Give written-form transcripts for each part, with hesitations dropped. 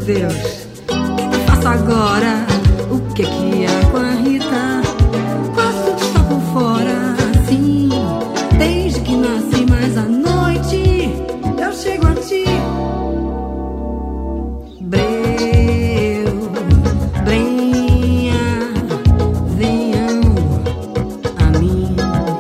Deus, eu faço agora o que é com a Rita? Passo de estar por fora, sim, desde que nasci, mas à noite eu chego a ti. Breu, brenha, venham a mim,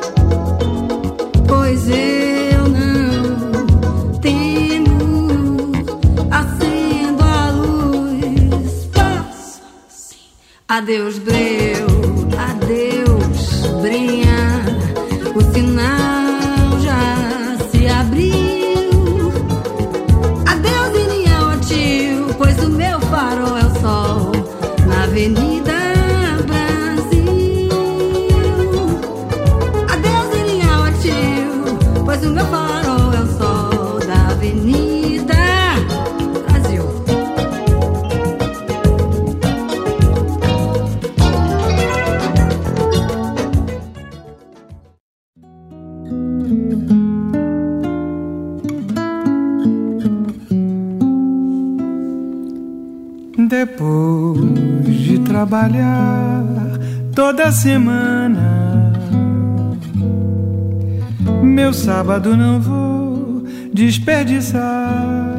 pois eu não temo, acendo a luz, passo assim. Adeus, breu, adeus, brenha, o sinal já se abriu. Adeus, Iniel, a tio, pois o meu farol é o sol na Avenida Brasil. Adeus, Iniel, a tio, pois o meu farol é o sol da Avenida Brasil. Depois de trabalhar toda semana, meu sábado não vou desperdiçar.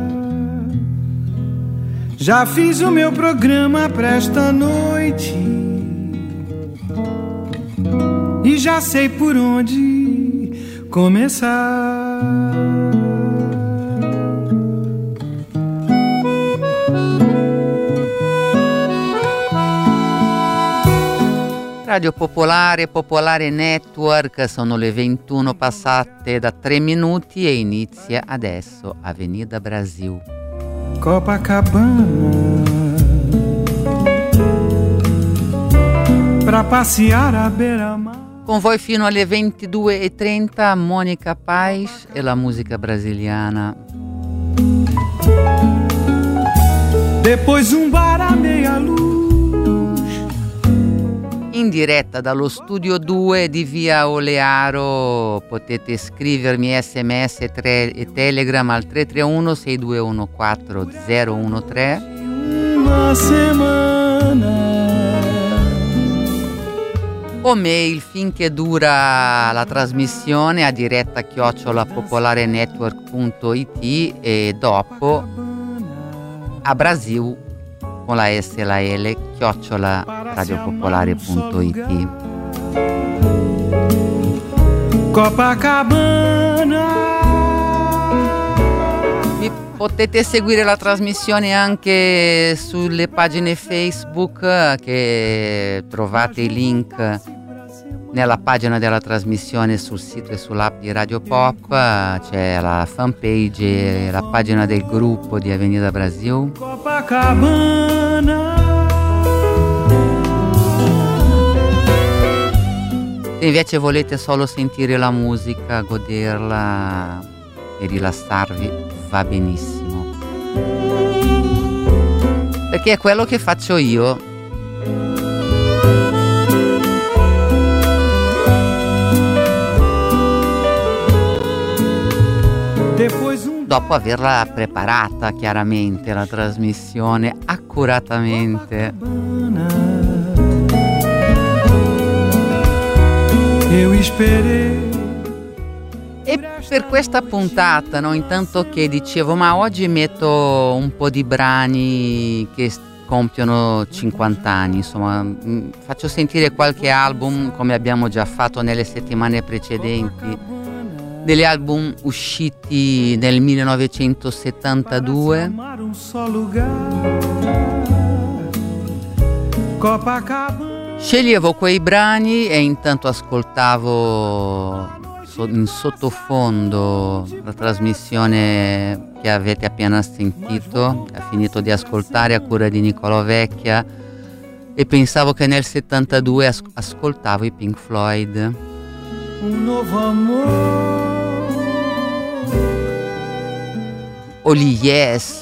Já fiz o meu programa pra esta noite e já sei por onde começar. Radio Popolare, Popolare Network, sono le 21 passate da 3 minuti e inizia adesso Avenida Brasil. Copacabana, pra passear a beira-mar. Con voi fino alle 22:30 Monica Paz e la musica brasiliana. Depois bar a meia luz. In diretta dallo studio 2 di via Olearo potete scrivermi sms e telegram al 331 6214 013. Una semana. O mail finché dura la trasmissione a diretta @popolarenetwork.it e dopo a Brasil con la S e la L @radiopopolare.it. Copacabana. Potete seguire la trasmissione anche sulle pagine Facebook, che trovate i link nella pagina della trasmissione sul sito e sull'app di Radio Pop. C'è la fanpage e la pagina del gruppo di Avenida Brasil. Copacabana. Se invece volete solo sentire la musica, goderla e rilassarvi, va benissimo, perché è quello che faccio io. Dopo averla preparata chiaramente la trasmissione accuratamente. E per questa puntata, no, intanto che dicevo, ma oggi metto un po' di brani che compiono 50 anni, insomma, faccio sentire qualche album come abbiamo già fatto nelle settimane precedenti, degli album usciti nel 1972. Sceglievo quei brani e intanto ascoltavo in sottofondo la trasmissione che avete appena sentito, ha finito di ascoltare, a cura di Nicolò Vecchia, e pensavo che nel 72 ascoltavo i Pink Floyd. Un nuovo amore. O gli Yes,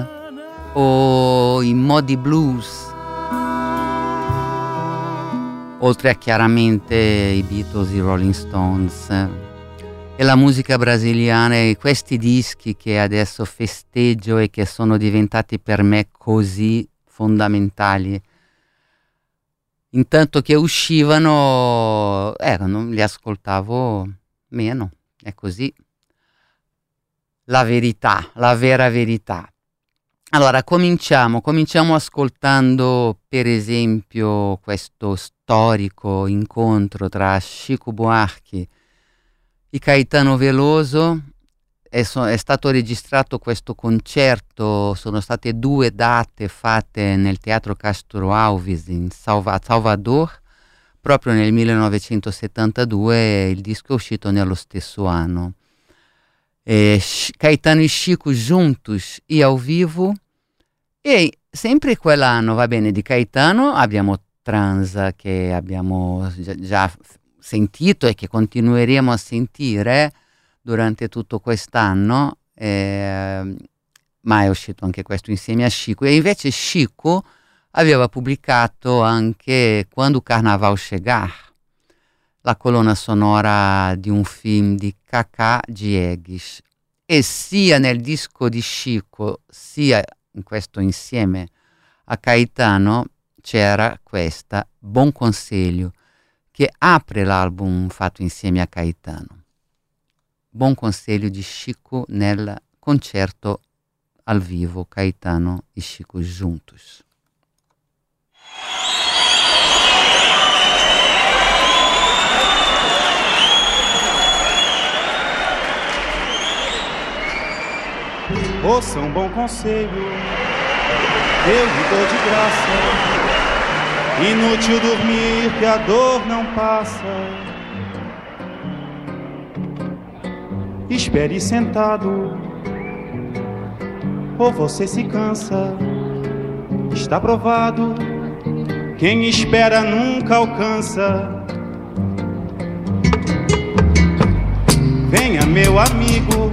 o i Moody Blues, oltre a chiaramente i Beatles, i Rolling Stones. e la musica brasiliana e questi dischi che adesso festeggio e che sono diventati per me così fondamentali. Intanto che uscivano, li ascoltavo meno, è così. La verità, la vera verità. Allora, cominciamo ascoltando per esempio questo storico incontro tra Chico Buarque e Caetano Veloso. È stato registrato questo concerto, sono state 2 date fatte nel Teatro Castro Alves a Salvador, proprio nel 1972, il disco è uscito nello stesso anno. Caetano e Chico juntos e ao vivo, e sempre quell'anno, va bene, di Caetano abbiamo Transa, che abbiamo già sentito e che continueremo a sentire durante tutto quest'anno, ma è uscito anche questo insieme a Chico. E invece Chico aveva pubblicato anche Quando o Carnaval Chegar, la colonna sonora di un film di Cacá Diegues, e sia nel disco di Chico sia in questo insieme a Caetano c'era questa Buon Consiglio, che apre l'album fatto insieme a Caetano. Buon Consiglio di Chico nel concerto al vivo, Caetano e Chico juntos. Ouça um bom conselho, eu lhe dou de graça. Inútil dormir que a dor não passa. Espere sentado, ou você se cansa. Está provado, quem espera nunca alcança. Venha, meu amigo,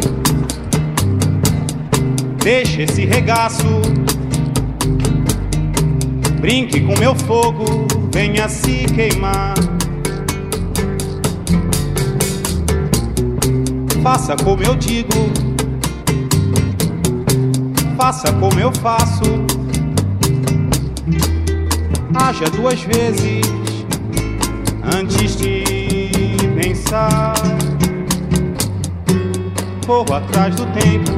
deixe esse regaço, brinque com meu fogo, venha se queimar. Faça como eu digo, faça como eu faço. Haja 2 vezes antes de pensar. Corro atrás do tempo,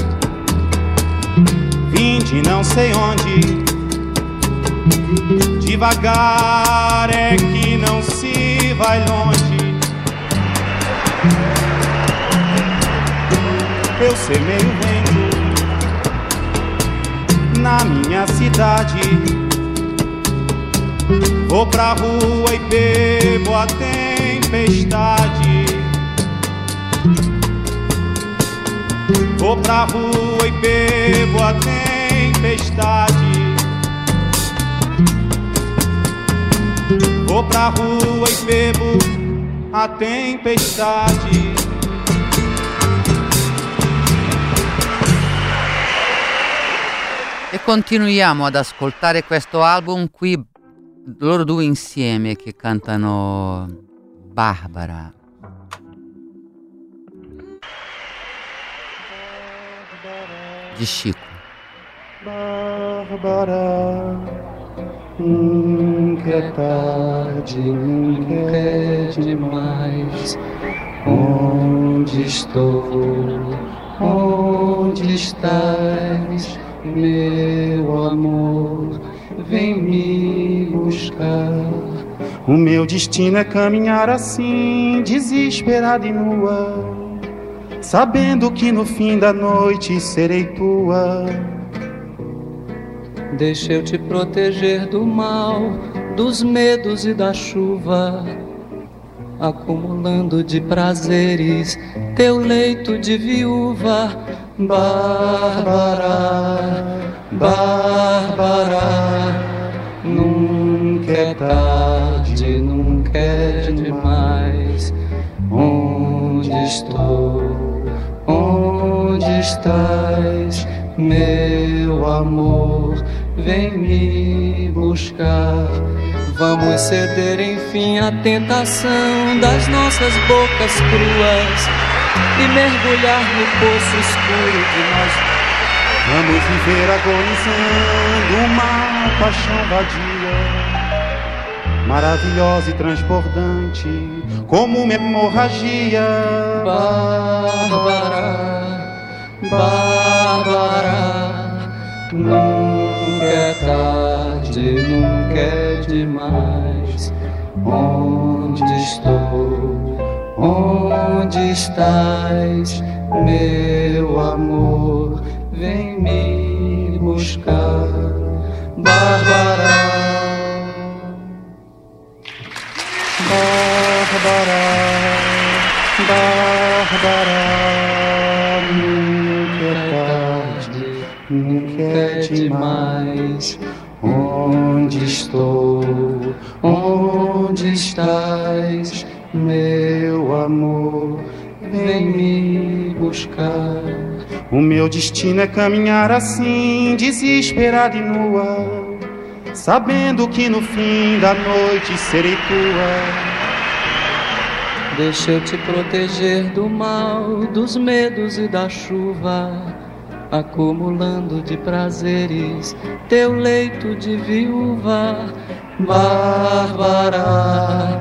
vim de não sei onde. Devagar é que não se vai longe. Eu semeio o vento na minha cidade. Vou pra rua e bebo a tempestade. Vou pra rua e bebo a tempestade. Vou pra rua e bebo a tempestade. E continuiamo ad ascoltare questo album qui, loro 2 insieme che cantano Barbara. Di Chico. Bárbara, nunca é tarde, nunca é demais. Onde estou? Onde estás? Meu amor, vem me buscar. O meu destino é caminhar assim, desesperada e nua, sabendo que no fim da noite serei tua. Deixa eu te proteger do mal, dos medos e da chuva, acumulando de prazeres teu leito de viúva. Bárbara, Bárbara, nunca é tarde, nunca é demais. Onde estou? Onde estás? Meu amor, vem me buscar. Vamos ceder enfim à tentação das nossas bocas cruas, e mergulhar no poço escuro de nós. Vamos viver agonizando uma paixão vadia, maravilhosa e transbordante, como uma hemorragia. Bárbara, Bárbara, nunca é tarde, nunca é demais. Onde estou? Onde estás, meu amor? Vem me buscar, Bárbara, Bárbara, Bárbara, nunca é tarde, nunca é demais. Onde estou? Onde estás, meu amor? Vem me buscar. O meu destino é caminhar assim, desesperada e nua, sabendo que no fim da noite serei tua. Deixa eu te proteger do mal, dos medos e da chuva, acumulando de prazeres teu leito de viúva. Bárbara,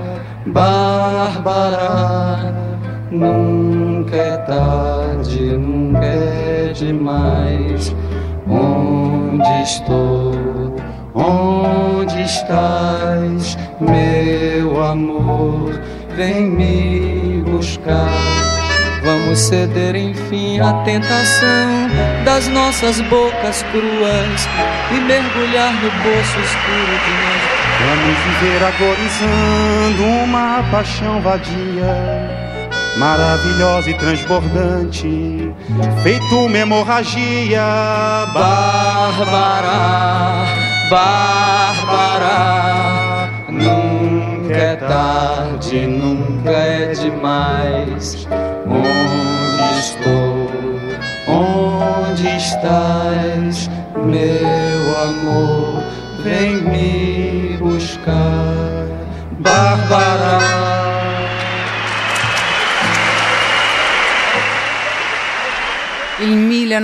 Bárbara, nunca é tarde, nunca é demais. Onde estou? Onde estás, meu amor? Vem me buscar. Vamos ceder enfim à tentação das nossas bocas cruas e mergulhar no poço escuro de nós. Vamos viver agonizando uma paixão vadia, maravilhosa e transbordante, feito uma hemorragia. Bárbara, Bárbara, nunca é tarde, nunca é demais. Onde estou? Onde estás, meu amor? Vem me buscar, Bárbara. Il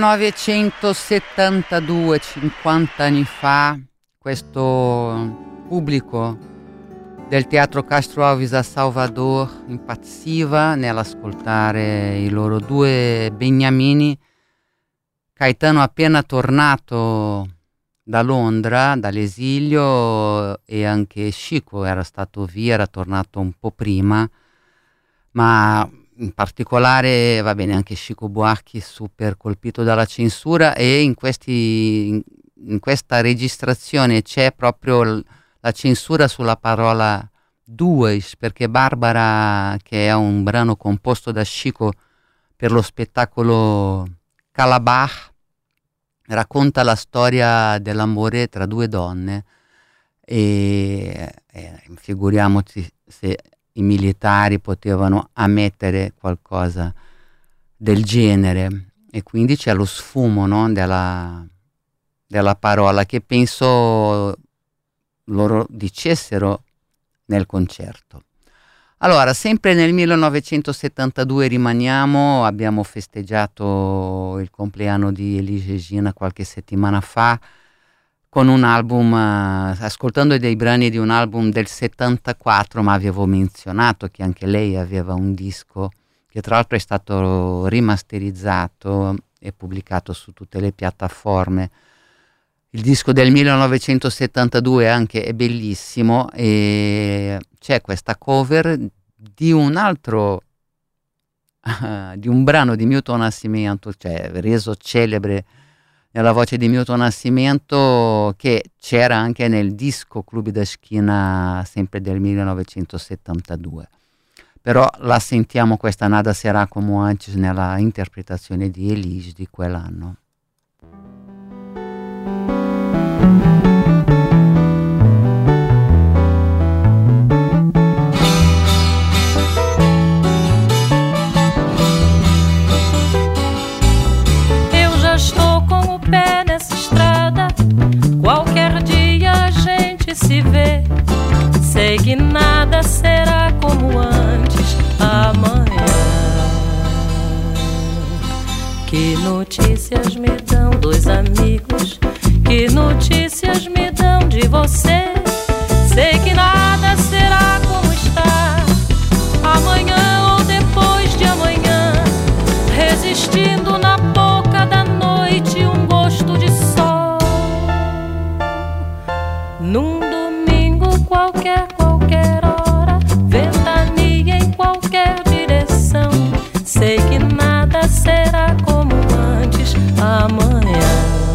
1972, 50 anni fa, questo pubblico del Teatro Castro Alves a Salvador impazziva nell'ascoltare i loro due beniamini. Caetano appena tornato da Londra, dall'esilio, e anche Chico era stato via, era tornato un po' prima, ma in particolare, va bene, anche Chico Buarque super colpito dalla censura, e in questa registrazione c'è proprio la censura sulla parola duas, perché Barbara, che è un brano composto da Chico per lo spettacolo Calabar, racconta la storia dell'amore tra due donne, e figuriamoci se i militari potevano ammettere qualcosa del genere, e quindi c'è lo sfumo, no, della parola, che penso loro dicessero nel concerto. Allora, sempre nel 1972 rimaniamo, abbiamo festeggiato il compleanno di Elis Regina qualche settimana fa con un album, ascoltando dei brani di un album del 74, ma avevo menzionato che anche lei aveva un disco che tra l'altro è stato rimasterizzato e pubblicato su tutte le piattaforme. Il disco del 1972 anche è bellissimo, e c'è questa cover di un altro di un brano di Milton Nascimento, cioè reso celebre nella voce di Milton Nascimento, che c'era anche nel disco Clube da Esquina sempre del 1972. Però la sentiamo questa Nada Será Como Antes nella interpretazione di Elis di quell'anno. Se vê, sei que nada será como antes amanhã. Que notícias me dão dois amigos? Que notícias me dão de você? Sei que nada será como está, amanhã ou depois de amanhã, resistindo na boca da noite um gosto de sol. Num domingo qualquer hora, ventania em qualquer direção. Sei que nada será como antes amanhã.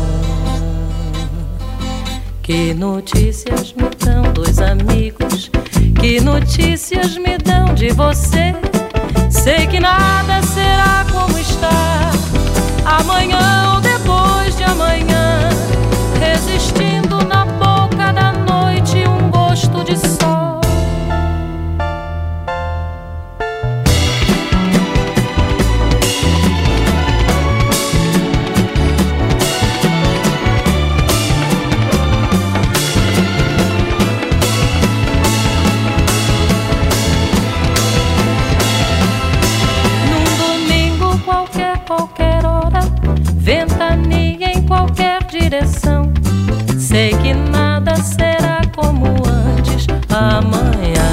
Que notícias me dão dois amigos? Que notícias me dão de você? Sei que nada será como está, amanhã ou depois de amanhã, resistindo na boca da noite um gosto de sol. Qualquer hora, ventania em qualquer direção. Sei que nada será como antes amanhã.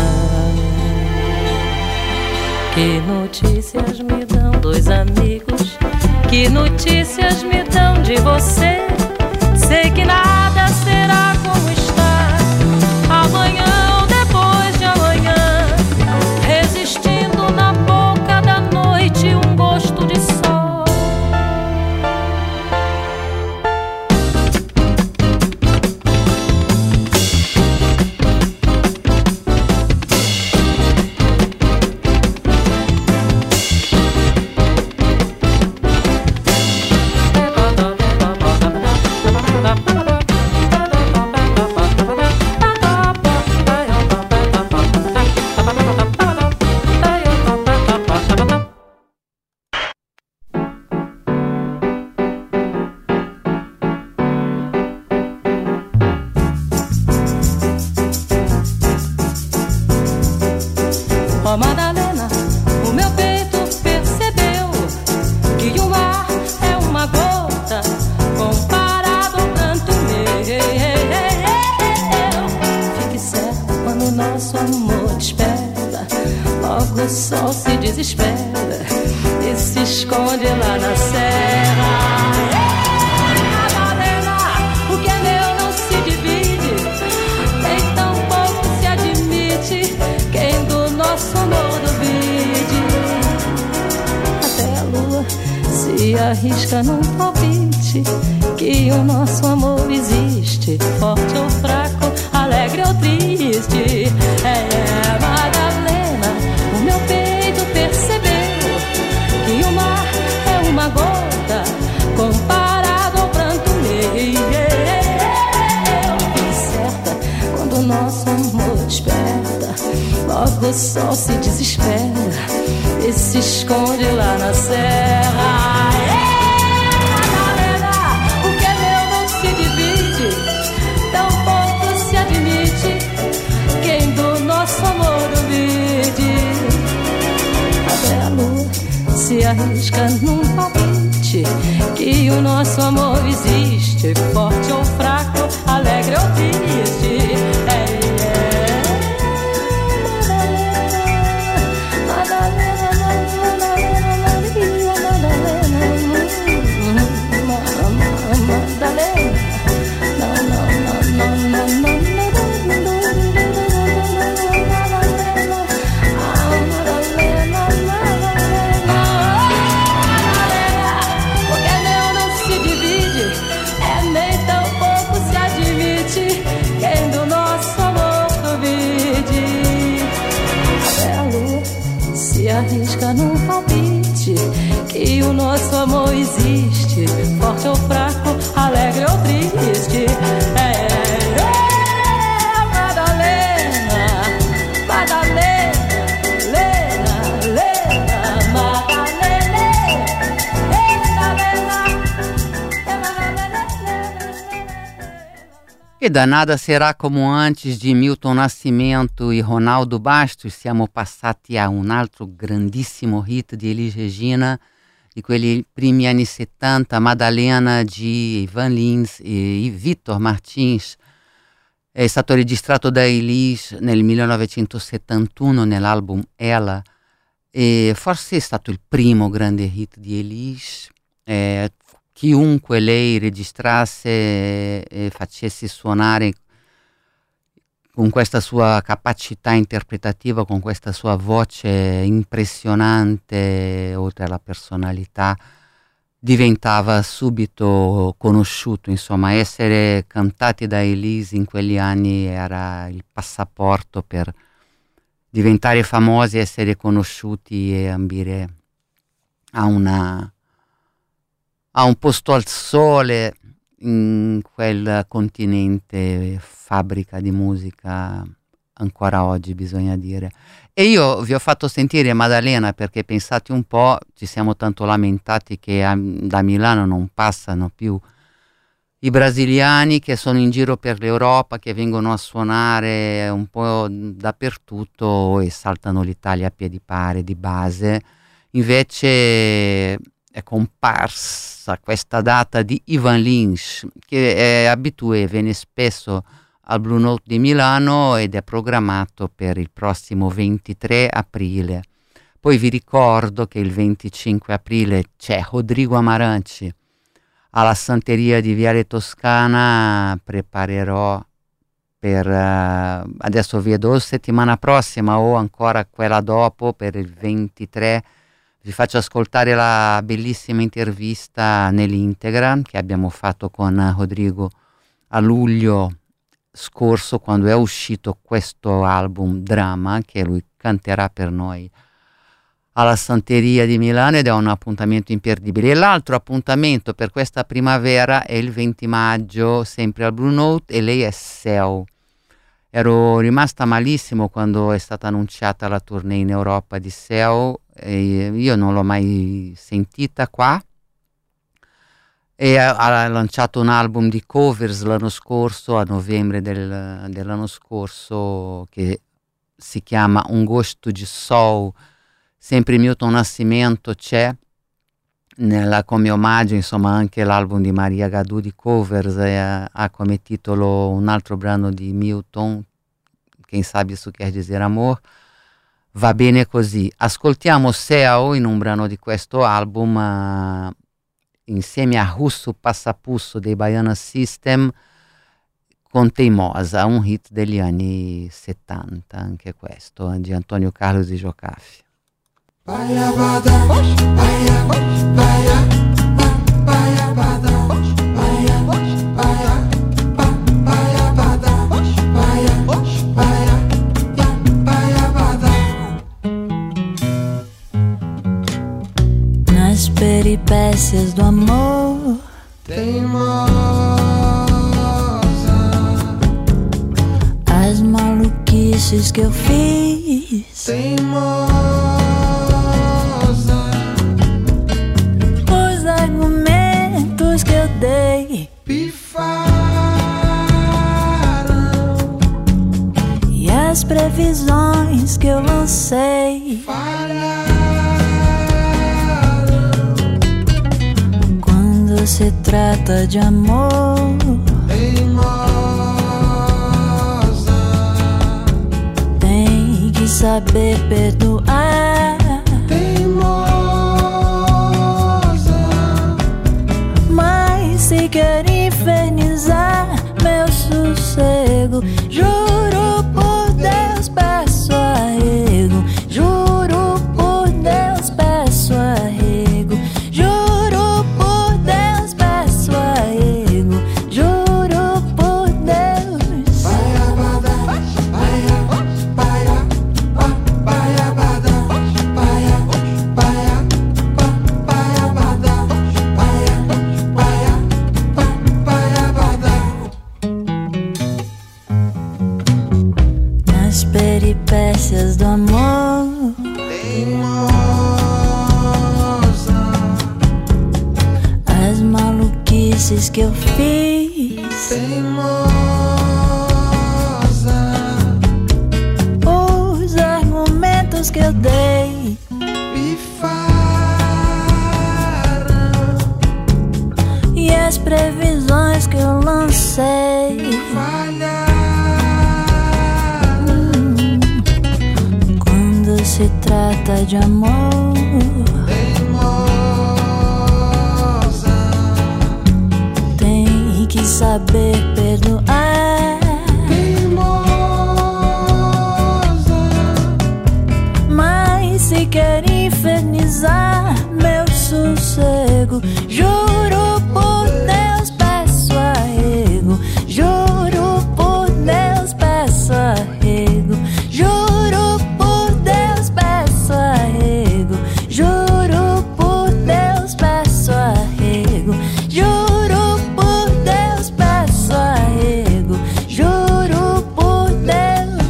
Que notícias me dão dois amigos? Que notícias me dão de você? Sei que nada será como está, amanhã ou depois de amanhã, resistindo na boca da noite um gosto de sol. Ó Madalena, o meu peito percebeu que o mar é uma gota comparado ao pranto meu. Fique certo quando o nosso amor te espera, logo o sol se desespera e se esconde lá na serra. Madalena, o que é meu não se divide, nem tampouco se admite quem do nosso amor duvide. Até a lua se arrisca num palpite que o nosso amor existe, forte ou fraco, alegre ou triste. Madalena, o meu peito percebeu que o mar é uma gota comparado ao pranto meu. Fique certa quando o nosso amor desperta, logo o sol se desespera e se esconde lá na serra. Madalena, o que é meu não se divide, tampouco se admite quem do nosso amor duvide. Até a lua se arrisca num palpite que o nosso amor existe, forte ou fraco, alegre ou triste. Arrisca num palpite que o nosso amor existe, forte ou fraco, alegre ou triste. Madalena, Madalena, Lena, Lena, Madalena, E danada será como antes di Milton Nascimento e Ronaldo Bastos. Siamo passati a un altro grandissimo hit di Elis Regina, di quegli primi anni 70, Madalena G, Ivan Lins e Victor Martins. È stato registrato da Elis nel 1971 nell'album Ela, e forse è stato il primo grande hit di Elis. Chiunque lei registrasse e facesse suonare con questa sua capacità interpretativa, con questa sua voce impressionante, oltre alla personalità, diventava subito conosciuto. Insomma, essere cantati da Elise in quegli anni era il passaporto per diventare famosi, essere conosciuti e ambire a un posto al sole in quel continente, fabbrica di musica ancora oggi, bisogna dire. E io vi ho fatto sentire Maddalena perché, pensate un po', ci siamo tanto lamentati che da Milano non passano più i brasiliani che sono in giro per l'Europa, che vengono a suonare un po' dappertutto e saltano l'Italia a piedi pari di base. Invece è comparsa questa data di Ivan Lins, che è abitué, viene spesso al Blue Note di Milano ed è programmato per il prossimo 23 aprile. Poi vi ricordo che il 25 aprile c'è Rodrigo Amarante alla Santeria di Viale Toscana. Preparerò per adesso vedo settimana prossima o ancora quella dopo, per il 23 vi faccio ascoltare la bellissima intervista nell'integra che abbiamo fatto con Rodrigo a luglio scorso, quando è uscito questo album Drama, che lui canterà per noi alla Santeria di Milano, ed è un appuntamento imperdibile. E l'altro appuntamento per questa primavera è il 20 maggio, sempre al Blue Note, e lei è Seu. Ero rimasta malissimo quando è stata annunciata la tournée in Europa di Seu, e io non l'ho mai sentita qua, e ha lanciato un album di covers l'anno scorso, a novembre dell'anno scorso, che si chiama Un Gosto di Sol. Sempre Milton Nascimento c'è come omaggio, insomma. Anche l'album di Maria Gadù di covers ha come titolo un altro brano di Milton, Quem Sabe Isso Quer Dizer Amor. Va bene così. Ascoltiamo Seu in un brano di questo album, insieme a Russo Passapusso dei Baiana System, con Teimosa, un hit degli anni 70, anche questo, di Antonio Carlos e Jocafi. Nas peripécias do amor, teimosa, as maluquices que eu fiz, teimosa, os argumentos que eu dei pifaram e as previsões que eu lancei falharam. Quando se trata de amor, Teimosa, tem que saber perdoar. teimosa, Mas se quer infernizar meu sossego, juro por Deus, peço arrego. Juro por Deus, peço arrego. Juro por Deus, peço arrego. Juro por Deus. baiabada, baia, baia, baiabada, baia, baia, baiabada, baia, baia, baiabada. Nas peripécias do amor, Teimosa, as maluquices que eu fiz, teimosa, os argumentos que eu dei pifaram previsões que eu lancei. Quando se trata de amor, tem que saber perdoar. Mas se quer infernizar meu sossego, juro por Deus peço arrego. Juro por Deus peço arrego. Juro por Deus peço arrego. Juro por Deus peço arrego. Juro por Deus peço arrego. Juro por Deus.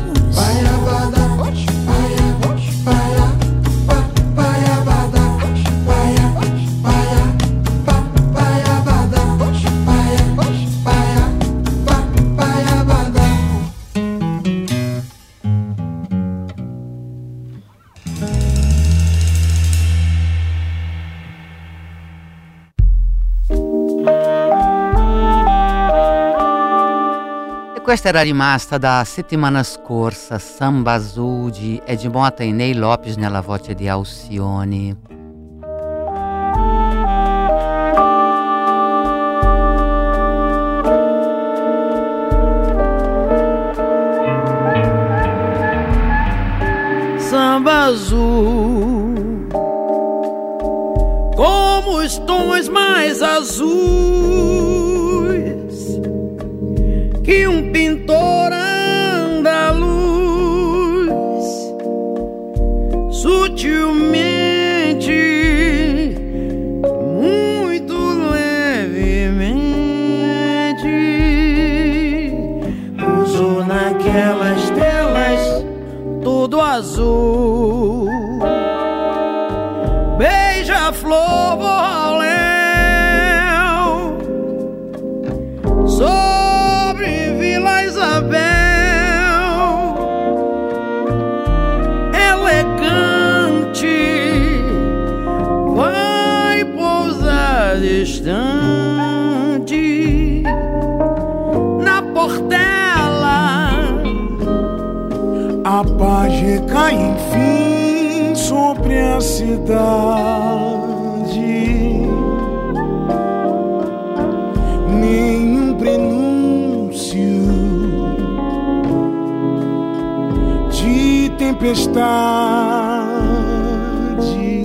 Questa era rimasta da settimana scorsa, Samba Azul di Edmota e Ney Lopes nella voce di Alcione. Samba azul, como os tons mais azuis que um pintor andaluz sutilmente, muito levemente usou naquelas telas tudo azul. Beija-flor Borrolão sobre Vila Isabel, elegante, vai pousar distante na Portela. A paz recai enfim sobre a cidade. Nenhum prenúncio de tempestade.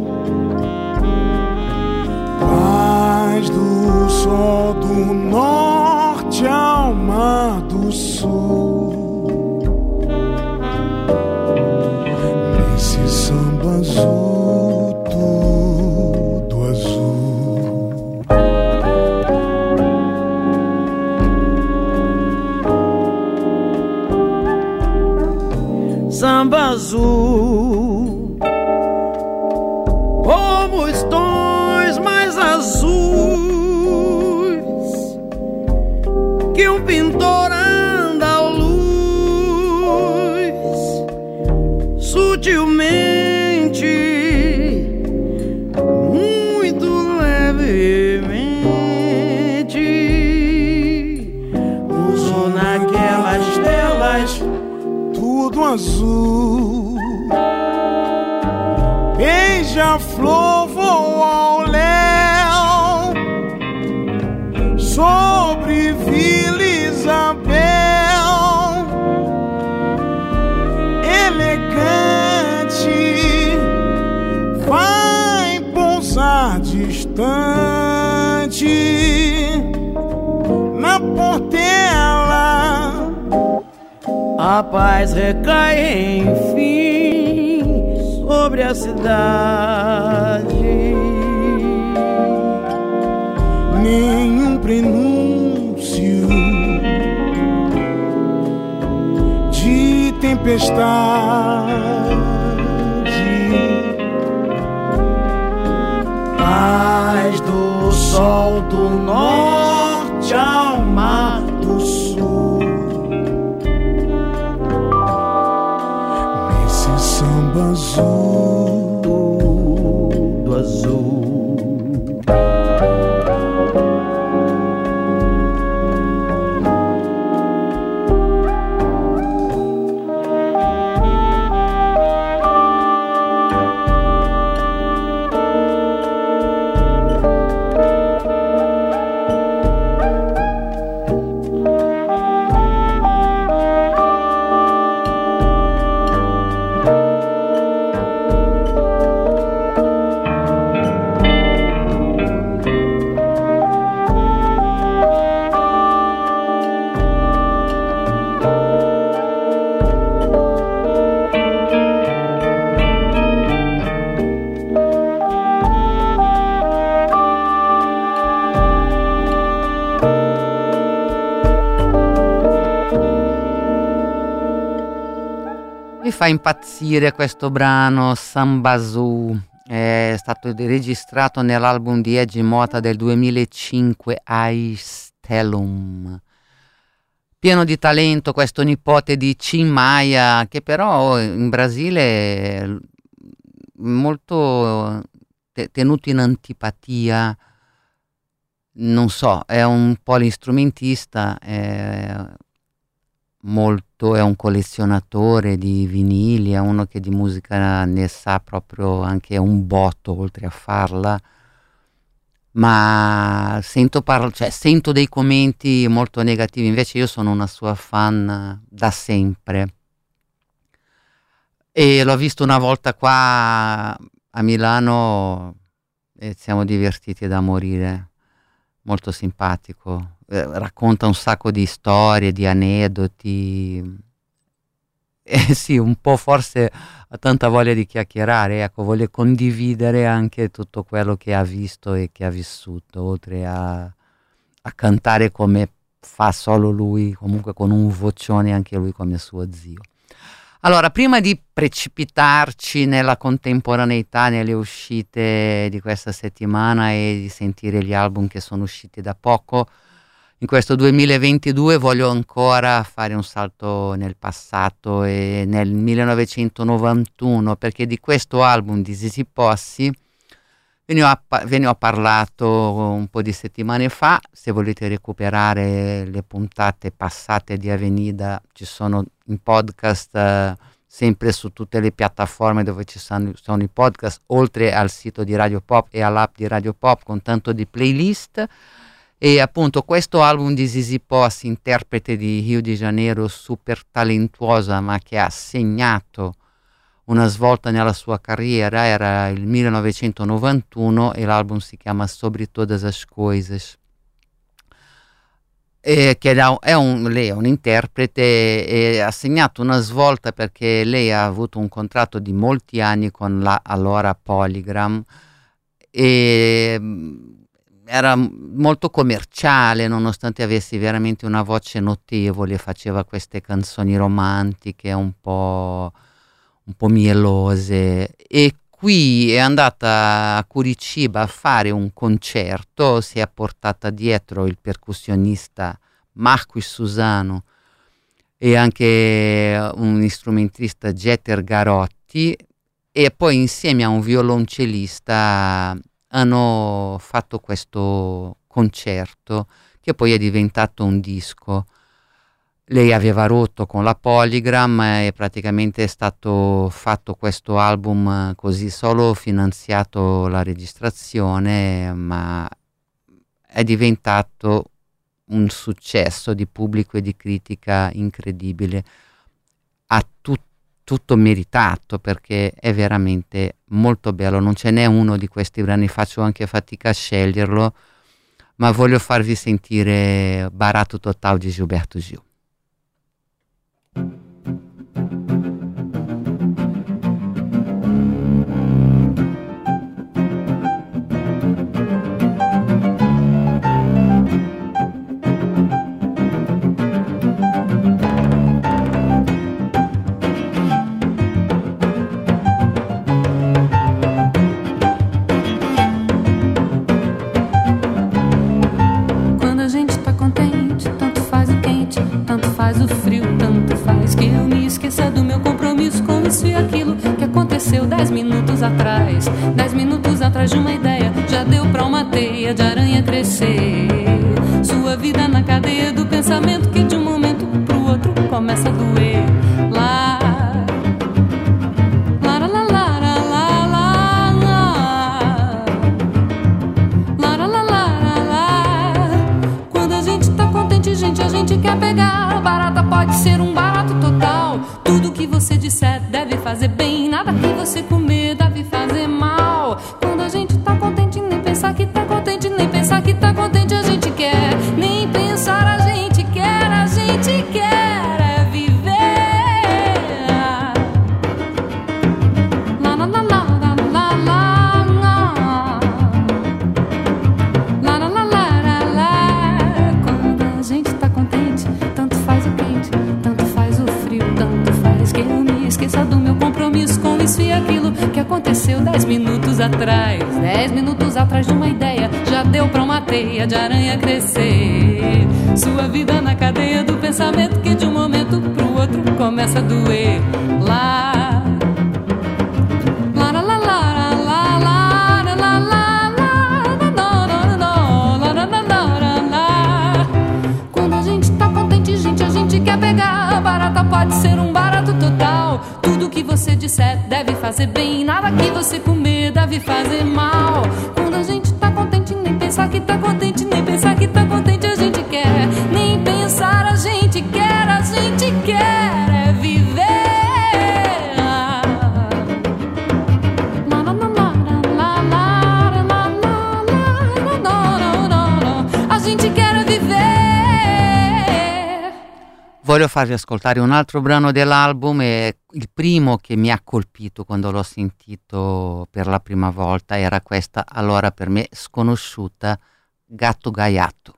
Paz do sol do norte ao mar do sul. Nesse samba azul, tudo azul. Samba azul, como os tons mais azuis que um pintor andaluz sutilmente, muito levemente usou naquelas telas Tudo azul. Beija-flor voa ao léu sobre Vila Isabel, elegante, vai pousar distante na Portela. A paz recai enfim sobre a cidade. Nenhum prenúncio de tempestade. Paz do sol do norte ao mar do sul. Nesse samba azul, tudo azul. Mi fa impazzire questo brano, Sambazoo, è stato registrato nell'album di Edgy Mota del 2005, Aistellum. Pieno di talento, questo nipote di Tim Maia, che però in Brasile è molto tenuto in antipatia, non so, è un polistrumentista, è un collezionatore di vinili, è uno che di musica ne sa proprio anche un botto, oltre a farla, ma sento dei commenti molto negativi. Invece io sono una sua fan da sempre e l'ho visto una volta qua a Milano e siamo divertiti da morire. Molto simpatico, racconta un sacco di storie, di aneddoti, sì, un po' forse ha tanta voglia di chiacchierare, ecco, vuole condividere anche tutto quello che ha visto e che ha vissuto, oltre a cantare come fa solo lui, comunque con un vocione anche lui come suo zio. Allora, prima di precipitarci nella contemporaneità, nelle uscite di questa settimana e di sentire gli album che sono usciti da poco, in questo 2022 voglio ancora fare un salto nel passato e nel 1991, perché di questo album di Zizi Posse ve ne ho parlato un po' di settimane fa. Se volete recuperare le puntate passate di Avenida, ci sono in podcast sempre su tutte le piattaforme dove ci sono i podcast, oltre al sito di Radio Pop e all'app di Radio Pop con tanto di playlist. E appunto questo album di Zizi Posse, interprete di Rio de Janeiro, super talentuosa ma che ha segnato una svolta nella sua carriera, era il 1991 e l'album si chiama Sobre Todas as Coisas. Lei è un interprete e ha segnato una svolta perché lei ha avuto un contratto di molti anni con la allora Polygram e era molto commerciale, nonostante avesse veramente una voce notevole, faceva queste canzoni romantiche un po' mielose, e qui è andata a Curitiba a fare un concerto, si è portata dietro il percussionista Marcos Susano e anche un strumentista Jeter Garotti, e poi insieme a un violoncellista hanno fatto questo concerto che poi è diventato un disco. Lei aveva rotto con la Polygram e praticamente è stato fatto questo album così, solo finanziato la registrazione, ma è diventato un successo di pubblico e di critica incredibile. Ha tutto meritato perché è veramente molto bello. Non ce n'è uno di questi brani, faccio anche fatica a sceglierlo, ma voglio farvi sentire Barato Total di Gilberto Gil. Isso e aquilo que aconteceu 10 minutos atrás. 10 minutos atrás de uma ideia já deu pra uma teia de aranha crescer. Sua vida na cadeia do pensamento que de um momento pro outro começa a doer. Lá, lá, lá, lá, lá, lá, lá, lá, lá, lá, lá. Quando a gente tá contente, gente, a gente quer pegar. Barata pode ser um barato total. Tudo que você disser deve fazer bem, nada que você comer deve fazer mal. Quando a gente tá contente, nem pensar que tá contente, nem pensar que tá contente a gente quer. Nem pensar a gente quer é viver. Lá, lá, lá, lá, lá, lá, lá, lá. Lá, lá, lá, lá, lá. Quando a gente tá contente, tanto faz o quente, tanto faz o frio, tanto faz que eu me esqueça já deu pra uma teia de aranha crescer. Sua vida na cadeia do pensamento que de um momento pro outro começa a doer. Lá, lá, lá, lá, lá, lá, lá, lá, lá, lá. Quando a gente tá contente, gente, a gente quer pegar. Barata pode ser um barato total. Tudo que você disser deve fazer bem. Nada que você comer deve fazer mal. Quando a gente tá contente, nem pensar que tá contente, nem pensar que tá contente a gente quer. Nem pensar a gente quer é viver. A gente quer viver. Voglio farvi ascoltare un altro brano dell'album, e il primo che mi ha colpito quando l'ho sentito per la prima volta era questa, allora per me sconosciuta, Gatto Gaiato.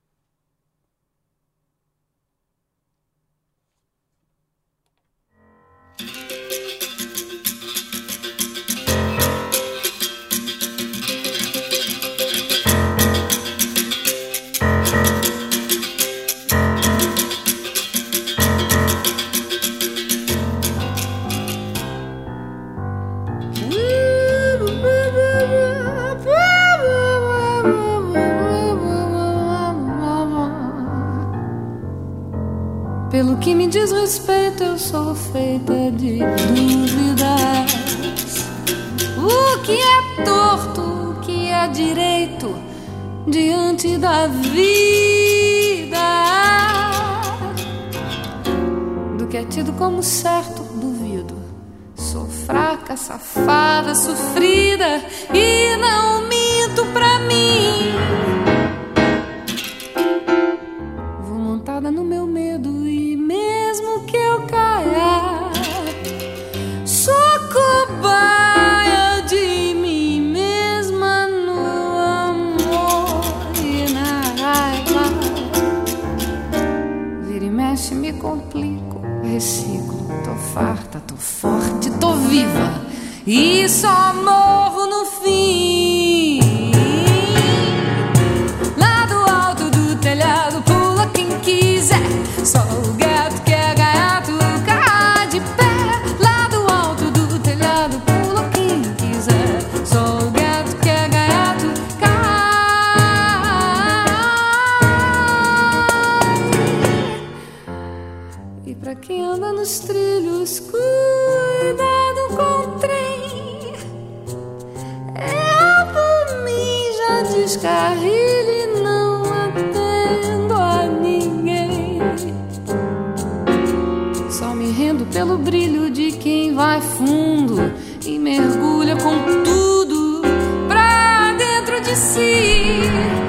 Pelo que me diz respeito, eu sou feita de dúvidas. O que é torto, o que é direito diante da vida? Do que é tido como certo, duvido. Sou fraca, safada, sofrida e não minto pra mim. Vou montada no meu medo e mesmo que eu caia, sou cobaia de mim mesma no amor e na raiva. Vira e mexe, me complico, reciclo. Tô farta, tô forte, tô viva e só morro no fim. Lá do alto do telhado pula quem quiser. Só o gato que é gaiato cai de pé. Lá do alto do telhado pula quem quiser. Só o gato que é gaiato cai. E pra quem anda nos trilhos, cuidado com o trem. Eu por mim já descarrilho e não atendo a ninguém. Só me rendo pelo brilho de quem vai fundo e mergulha com tudo pra dentro de si.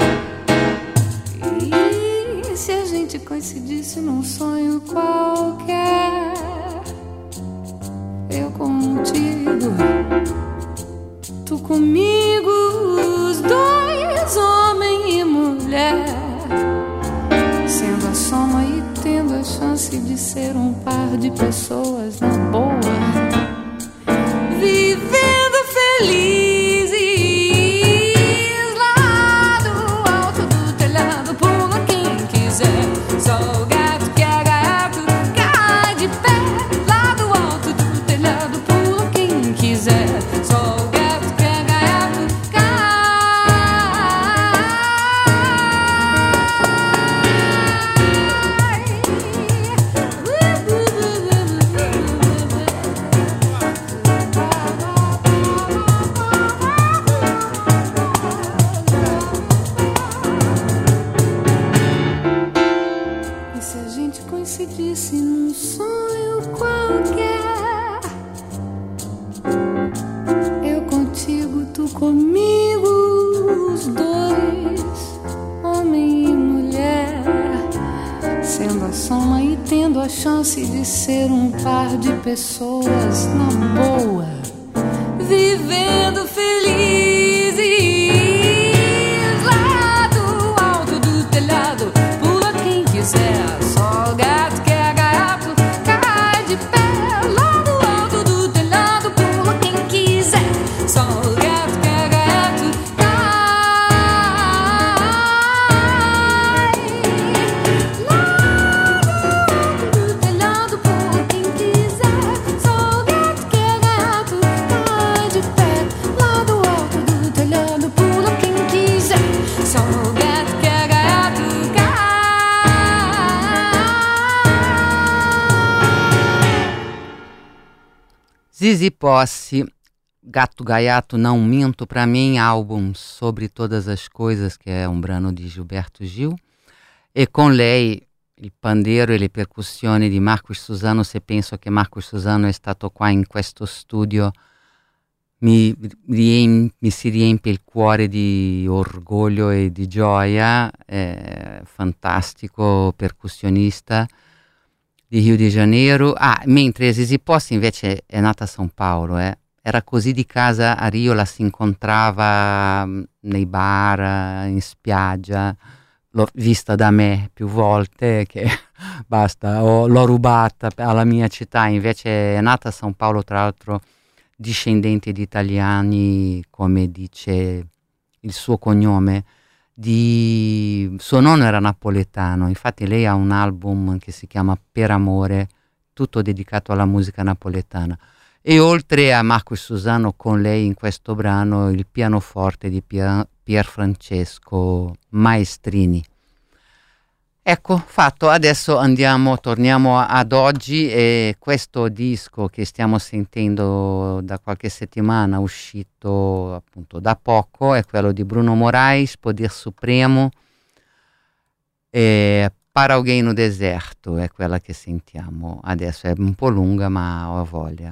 E se a gente coincidisse num sonho qualquer, eu contigo, tu comigo, os dois, homem e mulher, sendo a soma e tendo a chance de ser um par de pessoas na boa, vivendo felizes. Lá do alto do telhado pula quem quiser. Só o gato que é gaiato cai de pé. Lá do alto do telhado pula quem quiser. Só o gato que é gaiato E se a gente coincidisse num sonho qualquer, eu contigo, tu comigo, os dois, homem e mulher, sendo a soma e tendo a chance de ser um par de pessoas na boa, vivendo felizes. Lá do alto do telhado pula quem quiser. Só o gato que é gaiato cai de pé. Lá do alto do telhado pula quem quiser. Só o gato que é gaiato cai. Zizi Posse, Gato Gaiato Não Minto, para mim, álbum Sobre Todas as Coisas, che è un brano di Gilberto Gil, e con lei il pandeiro e le percussioni di Marcus Susano. Se penso che Marcus Susano è stato qua in questo studio, mi si riempie il cuore di orgoglio e di gioia. Fantastico percussionista di Rio de Janeiro. Mentre Zizi Posse invece è nata a São Paulo, era così di casa a Rio, la si incontrava nei bar, in spiaggia, l'ho vista da me più volte, che basta, l'ho rubata alla mia città. Invece è nata a São Paulo, tra l'altro discendente di italiani, come dice il suo cognome. Suo nonno era napoletano, infatti lei ha un album che si chiama Per Amore, tutto dedicato alla musica napoletana. E oltre a Marcus Susano, con lei in questo brano il pianoforte di Pier Francesco Maestrini. Ecco, fatto. Adesso torniamo ad oggi, e questo disco che stiamo sentendo da qualche settimana, uscito appunto da poco, è quello di Bruno Moraes, Poder Supremo, e Para Alguém no Deserto è quella che sentiamo adesso. È un po' lunga, ma ho voglia.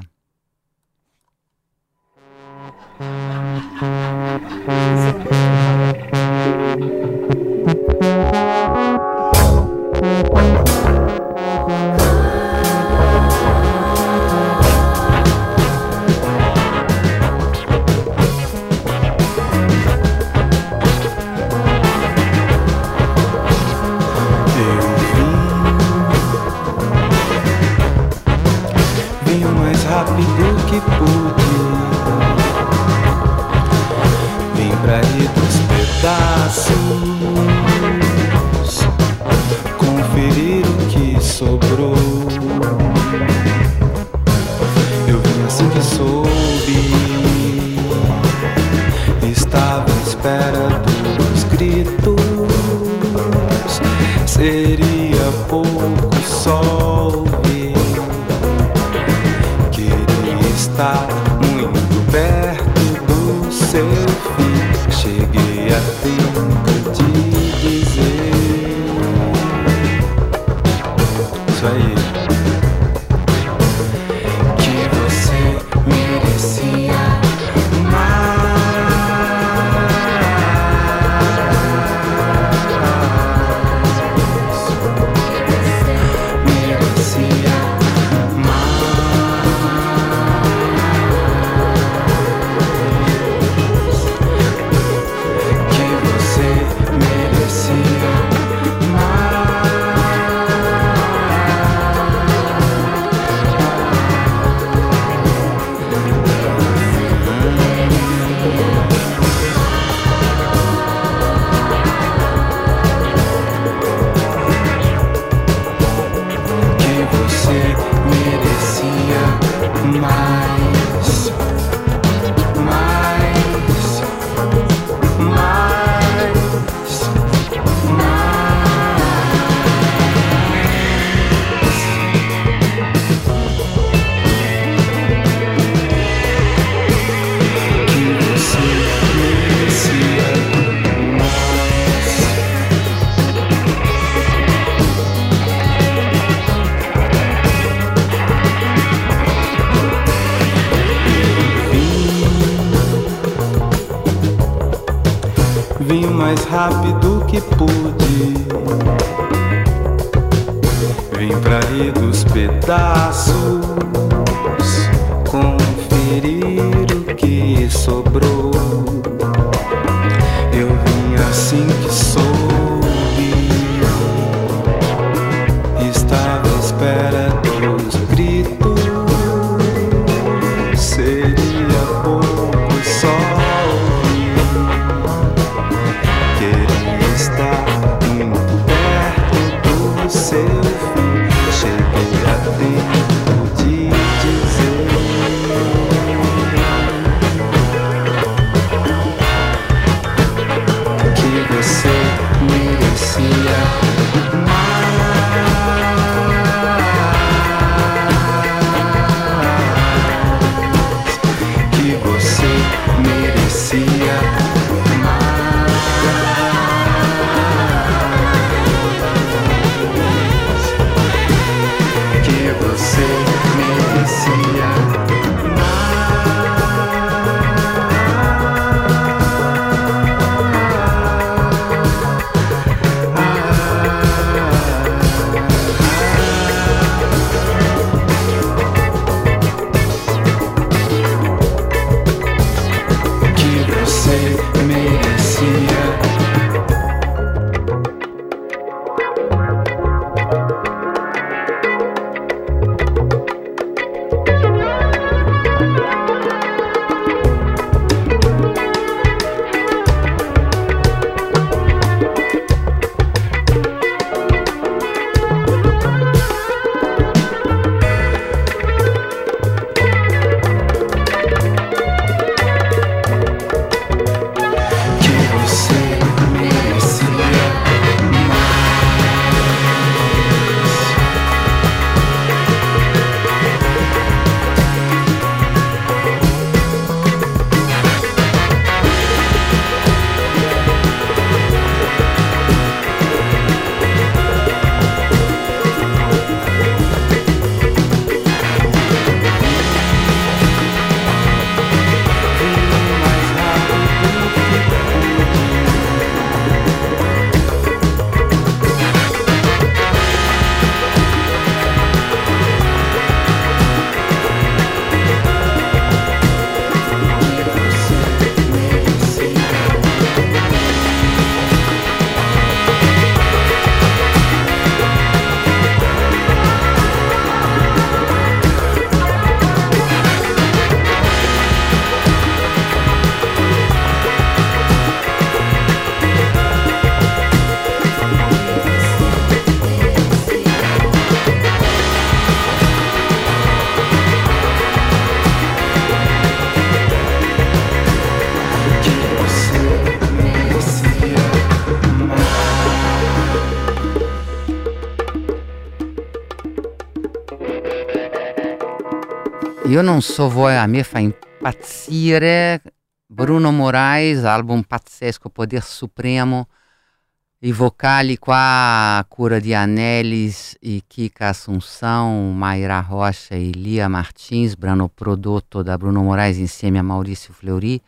Vim o mais rápido que pude, vim pra ir dos pedaços, conferir o que sobrou. Eu vim assim que soube, estava à espera dos gritos. Seria pouco só ouvir, queria estar muito perto do seu fim. Cheguei a tempo de dizer isso aí, que você merecia mais rápido que pude, vim pra rir dos pedaços, conferir o que sobrou. Eu vim assim que soube, estava à espera dos gritos. Seria pouco só muito perto do seu fim. Cheguei a tempo de dizer que você merecia mais. Io non so voi, a me fa impazzire Bruno Moraes, album pazzesco, Poder Supremo, i vocali qua a cura di Anelis e Kika Assunção, Mayra Rocha e Lia Martins, brano prodotto da Bruno Moraes insieme a Maurício Fleury,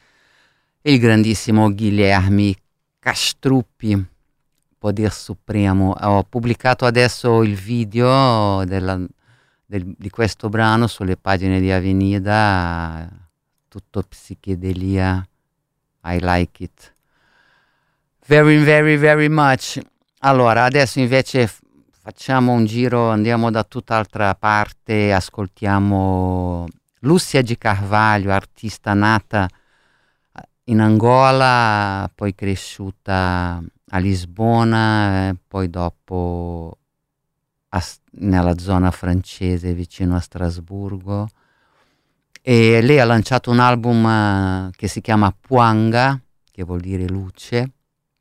e il grandissimo Guilherme Castruppi, Poder Supremo. Ho pubblicato adesso il video di questo brano sulle pagine di Avenida, tutto psichedelia, I like it very very very much. Allora adesso invece facciamo un giro, andiamo da tutt'altra parte, ascoltiamo Lúcia de Carvalho, artista nata in Angola, poi cresciuta a Lisbona, poi dopo nella zona francese vicino a Strasburgo, e lei ha lanciato un album che si chiama Puanga, che vuol dire luce,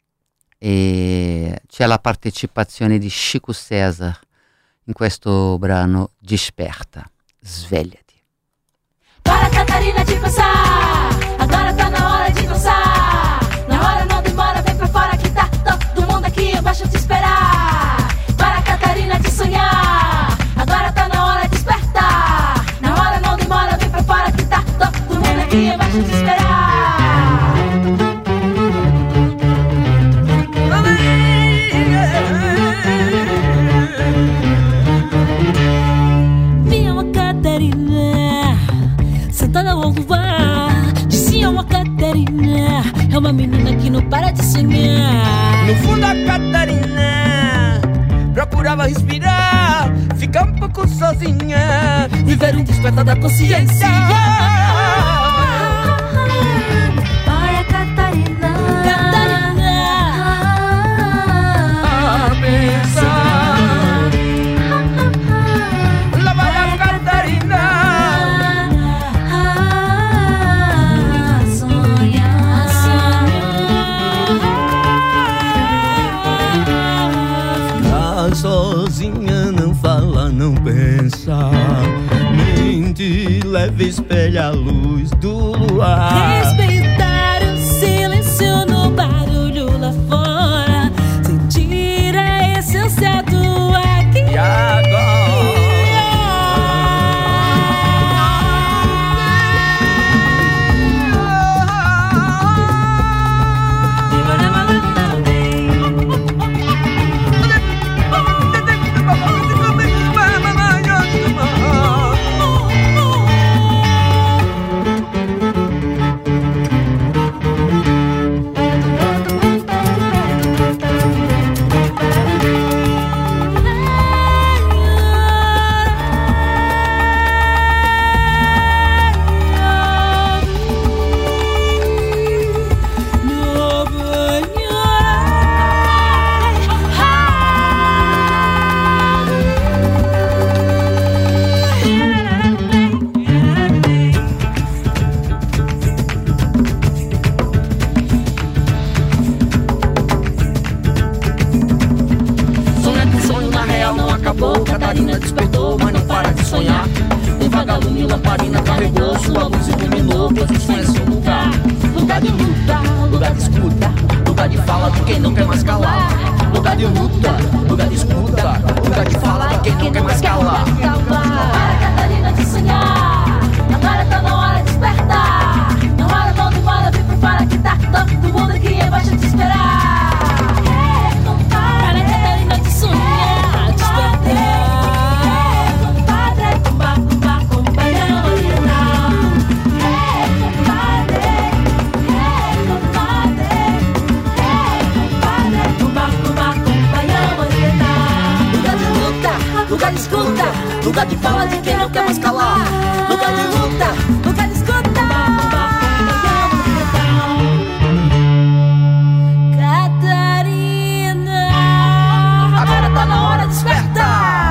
e c'è la partecipazione di Chico César in questo brano Desperta, svegliati. Para Catarina de pensar, agora tá na hora de dançar. Na hora não demora, vem pra fora que tá todo mundo aqui embaixo te esperar. Para Catarina de sonhar, agora tá na hora de despertar. Na hora não demora, vem pra fora que tá todo mundo aqui embaixo te esperar. Vinha uma Catarina sentada ao luar, dizia uma Catarina, é uma menina que não para de sonhar. No fundo a Catarina procurava respirar, ficar um pouco sozinha, Viver um despertar da consciência. Olha Catarina, Catarina, a pensar. Lá vai a Catarina, sonhar, ficar sozinha, não fala, não pensa, mente leve, espelha a luz do luar. respeitar o silêncio no barulho lá fora, sentir a essência do aqui. E agora? Catarina despertou, mas não para de sonhar. Um vagalume lamparina carregou, sua luz iluminou, posição é seu lugar. Lugar de luta, lugar de escuta, lugar de fala de quem não quer mais calar. Lugar de luta, lugar de escuta, lugar de fala de quem não quer mais calar. Para, Catarina, de sonhar. Agora tá na hora de despertar. Não hora, não demora, vem prepara que tá todo mundo aqui embaixo te esperar. Para, Catarina, de sonhar, despertar. Lugar de escuta, lugar de fala de quem não quer mais calar. Lugar de luta, lugar de escuta. Catarina, agora tá na hora de despertar.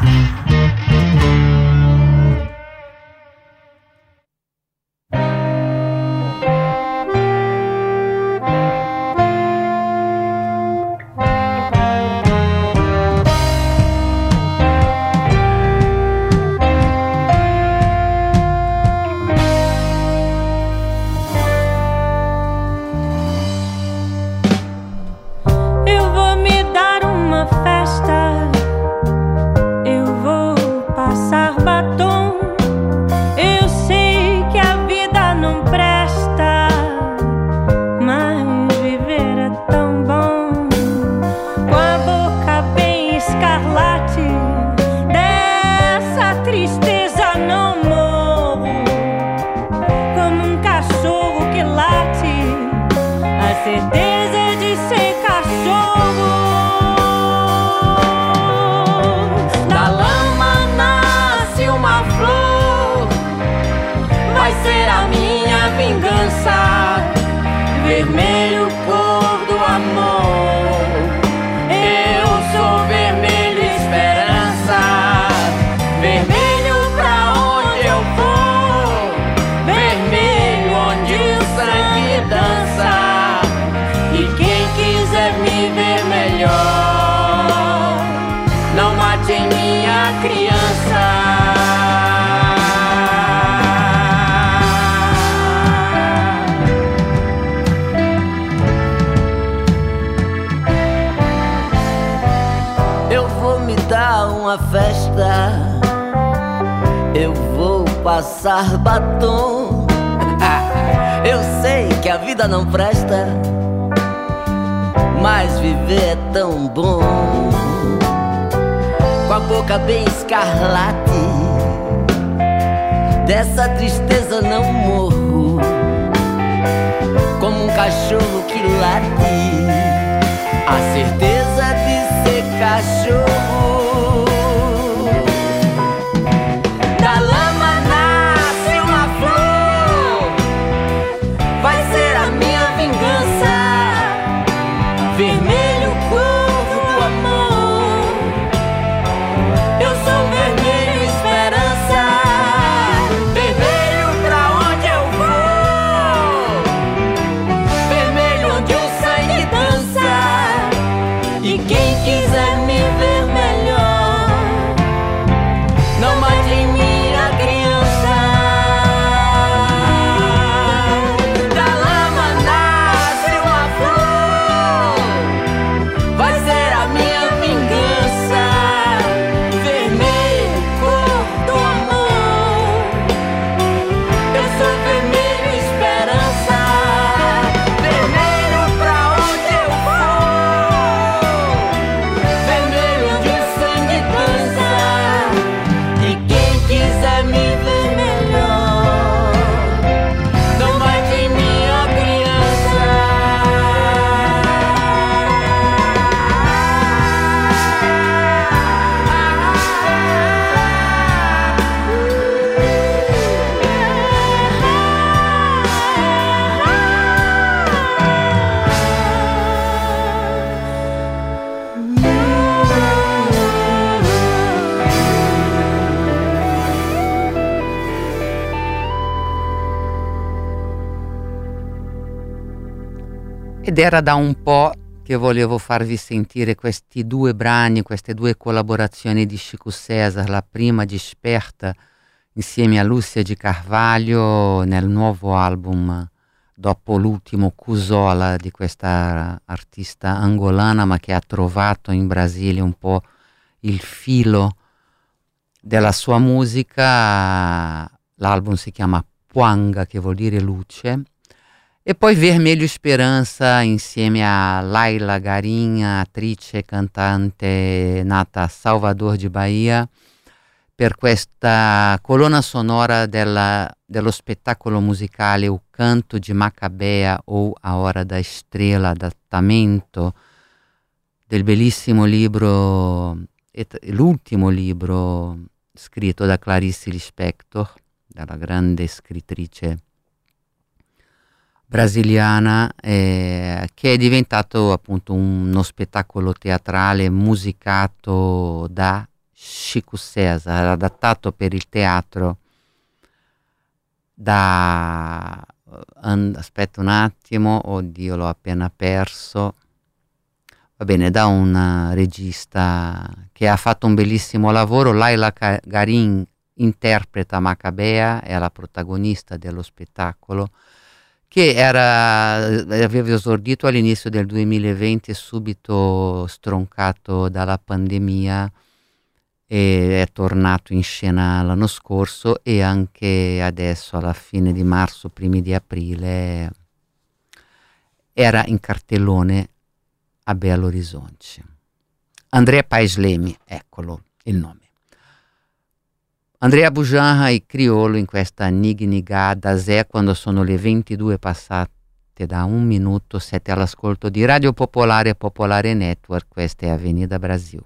Vermelho, cor do amor. Eu sou vermelho, esperança. Vermelho pra onde eu for. Vermelho onde o sangue dança. E quem quiser me ver melhor, não mate em minha criança. Uma festa, eu vou passar batom. Eu sei que a vida não presta, mas viver é tão bom. Com a boca bem escarlate, dessa tristeza não morro. Como um cachorro que late, a certeza de ser cachorro. Vermelho, cor do amor. Eu sou vermelho, esperança. Vermelho pra onde eu vou. Vermelho onde o sangue dança. E quem quiser me ver melhor, não mate em minha criança. Da lama nasce uma flor. Vai ser a minha vingança. Vermelho, cor do amor. Eu sou vermelho, esperança. Vermelho pra onde eu vou. Vermelho onde o sangue dança. E quem quiser me ver melhor, não mate em minha criança. Ed era da un po' che volevo farvi sentire questi due brani, queste due collaborazioni di Chico César, la prima Desperta insieme a Lúcia de Carvalho nel nuovo album dopo l'ultimo Cusola di questa artista angolana, ma che ha trovato in Brasile un po' il filo della sua musica. L'album si chiama Puanga, che vuol dire luce. E poi Vermelho Esperança insieme a Laila Garin, attrice e cantante nata a Salvador de Bahia, per questa colonna sonora dello spettacolo musicale O Canto de Macabea o A Hora da Estrela, adattamento del bellissimo libro, l'ultimo libro scritto da Clarice Lispector, dalla grande scrittrice brasiliana, che è diventato appunto uno spettacolo teatrale musicato da Chico César, adattato per il teatro da aspetta un attimo, oddio l'ho appena perso, va bene, da un regista che ha fatto un bellissimo lavoro. Laila Garin interpreta Macabea, è la protagonista dello spettacolo, che aveva esordito all'inizio del 2020 e subito stroncato dalla pandemia, e è tornato in scena l'anno scorso e anche adesso alla fine di marzo, primi di aprile era in cartellone a Belo Horizonte. Andrea Paes Leme, eccolo il nome. Andrea Bujanra e Criolo in questa Nignigada Zé, quando sono le 22 passate da 1 minuto. Siete all'ascolto di Radio Popolare e Popolare Network. Questa è Avenida Brasil.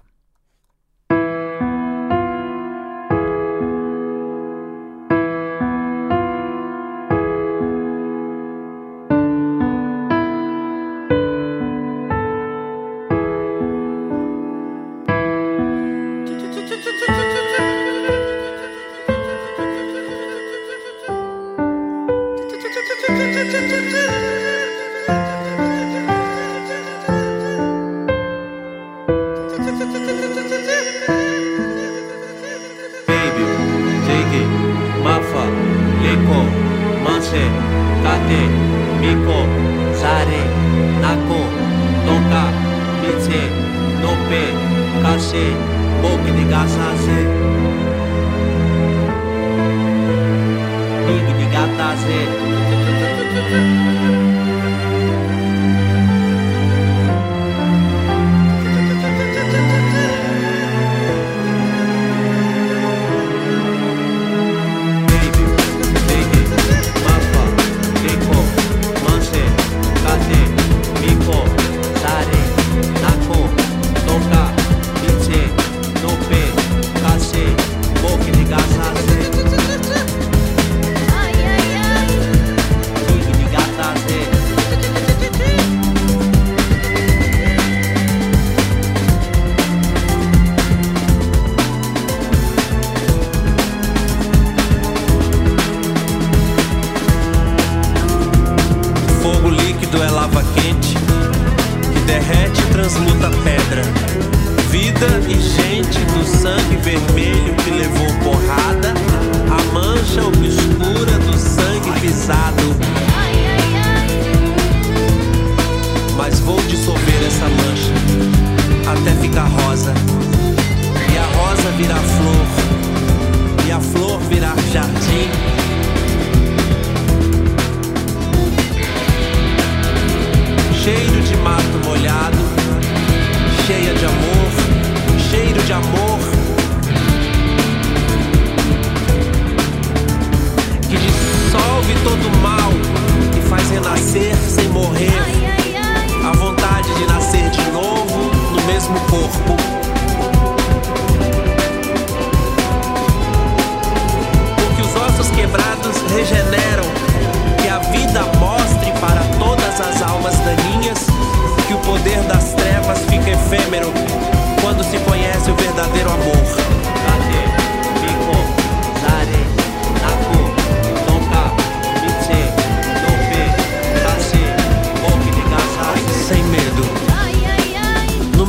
Sem medo.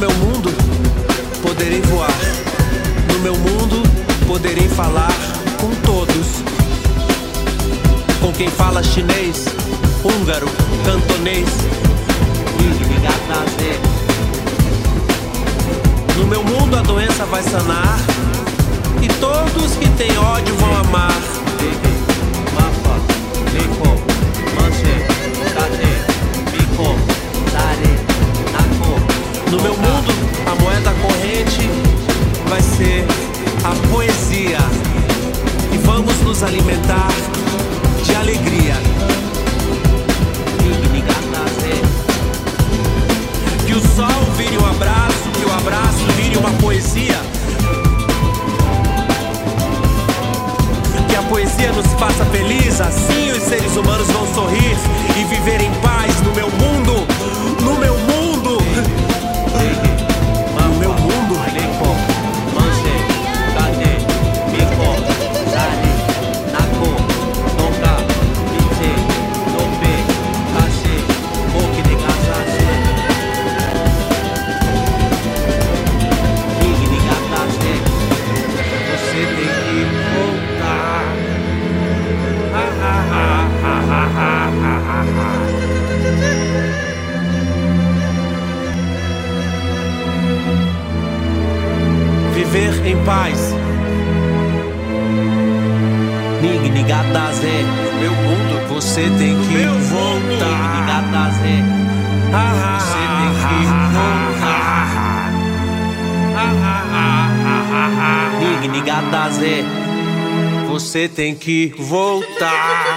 meu mundo poderei voar. No meu mundo poderei falar com todos. Com quem fala chinês, húngaro, cantonês. No meu mundo a doença vai sanar e todos que têm ódio vão amar. No meu mundo a moeda corrente vai ser a poesia e vamos nos alimentar de alegria. Que o sol vire um abraço, que o abraço vire uma poesia. Que a poesia nos faça feliz, assim os seres humanos vão sorrir e viver em paz no meu mundo, no meu mundo. No meu mundo. Viver em paz. Meu mundo, você tem que voltar. Você tem que voltar. Você tem que voltar.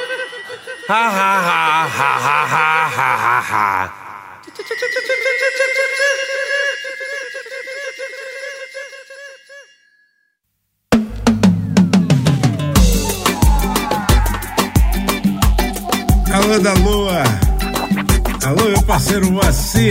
Alô da Lua, alô meu parceiro Moacir.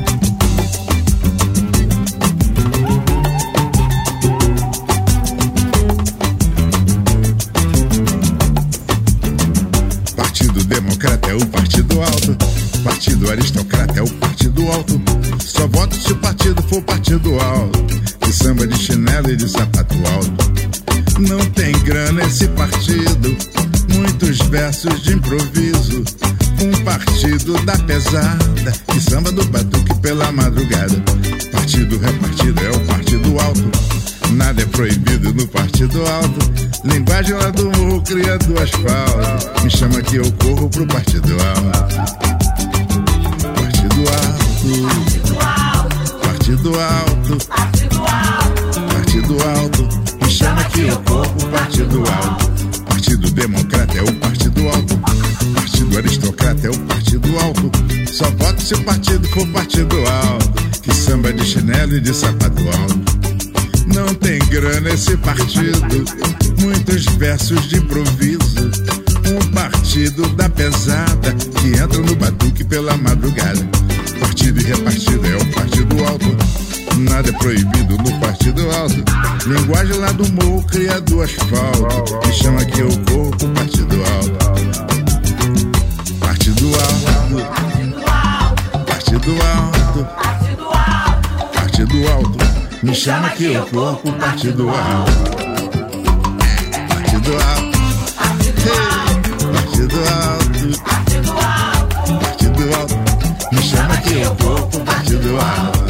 Partido Democrata é o partido alto, Partido Aristocrata é o partido alto. Só voto se o partido for partido alto, de samba de chinelo e de sapato alto. Não tem grana esse partido, muitos versos de improviso. Um partido da pesada, de samba do batuque pela madrugada. Partido repartido é o partido alto, nada é proibido no partido alto. Linguagem lá do morro cria do asfalto, me chama que eu corro pro partido alto. Partido alto, partido alto, partido alto, me chama que eu corro pro partido alto. Partido Democrata é o partido alto, Partido Aristocrata é o partido alto. Só voto se o partido for partido alto, que samba de chinelo e de sapato alto. Não tem grana esse partido, muitos versos de improviso. Um partido da pesada, que entra no batuque pela madrugada. Partido e repartido é o partido alto, nada é proibido no partido alto. Linguagem lá do morro cria do asfalto, me chama que eu corro pro partido alto. Partido alto, partido alto, partido alto, me chama que eu corro pro partido alto. Partido alto, partido alto, partido alto, me chama que eu corro pro partido alto.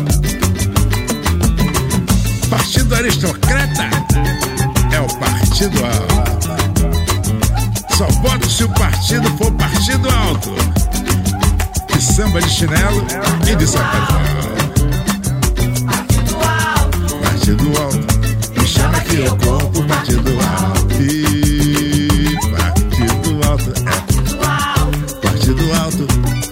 Partido Aristocrata é o partido alto. Só voto se o partido for partido alto, de samba de chinelo e de sapato alto. Partido alto, me chama que eu corro pro partido alto. E partido alto é partido alto,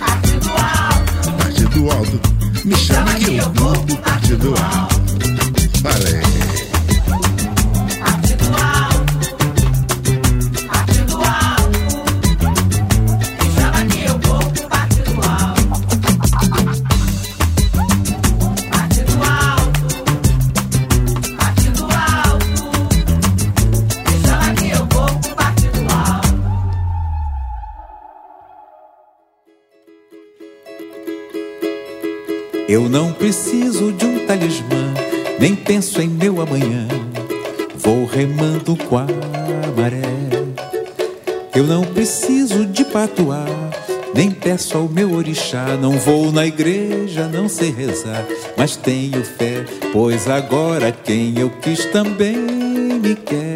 partido alto, me chama que eu corro pro partido alto. Falei. Partido alto, partido alto, me chama que eu vou pro partido alto. Partido alto, partido alto, me chama que eu vou pro partido alto. Eu não preciso de um talismã, nem penso em meu amanhã. Vou remando com a maré. Eu não preciso de patuá, nem peço ao meu orixá. Não vou na igreja, não sei rezar, mas tenho fé, pois agora quem eu quis também me quer.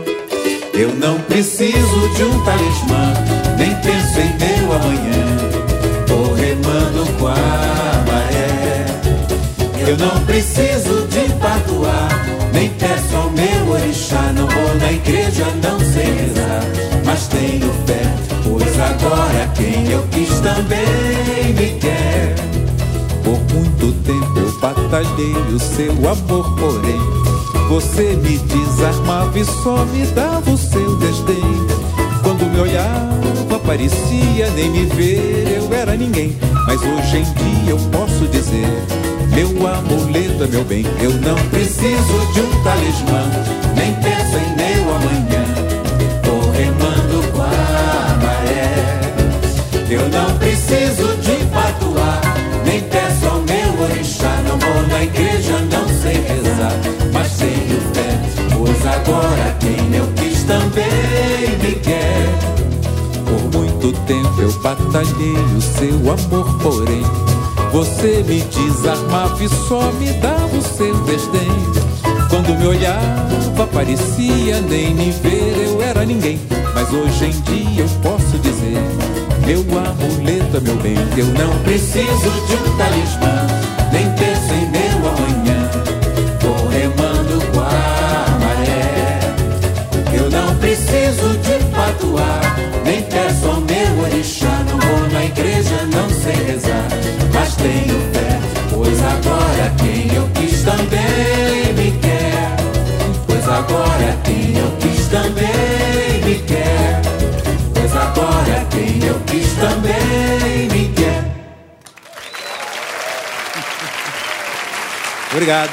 Eu não preciso de um talismã, nem penso em meu amanhã. Vou remando com a maré. Eu não preciso de patuá, nem peço ao meu orixá. Não vou na igreja, não sei rezar, mas tenho fé, pois agora quem eu quis também me quer. Por muito tempo eu batalhei o seu amor, porém você me desarmava e só me dava o seu desdém. Quando me olhava parecia nem me ver, eu era ninguém. Mas hoje em dia eu posso dizer, meu amuleto é meu bem. Eu não preciso de um talismã, nem penso em meu amanhã. Vou remando com a maré. Eu não preciso de patuá, nem peço ao meu orixá. Não vou na igreja, não sei rezar, mas tenho fé, pois agora quem eu quis também me quer. Por muito tempo eu batalhei o seu amor, porém você me desarmava e só me dava o seu desdém. Quando me olhava parecia nem me ver, eu era ninguém. Mas hoje em dia eu posso dizer, meu amuleto é meu bem. Eu não preciso de um talismã, nem penso em meu amanhã. Vou remando com a maré. Eu não preciso de patuá, nem peço ao meu orixá. Não vou na igreja, não sei rezar, mas tenho fé, pois agora quem eu quis também me quer. Pois agora quem eu quis também me quer. Pois agora quem eu quis também me quer. Obrigado.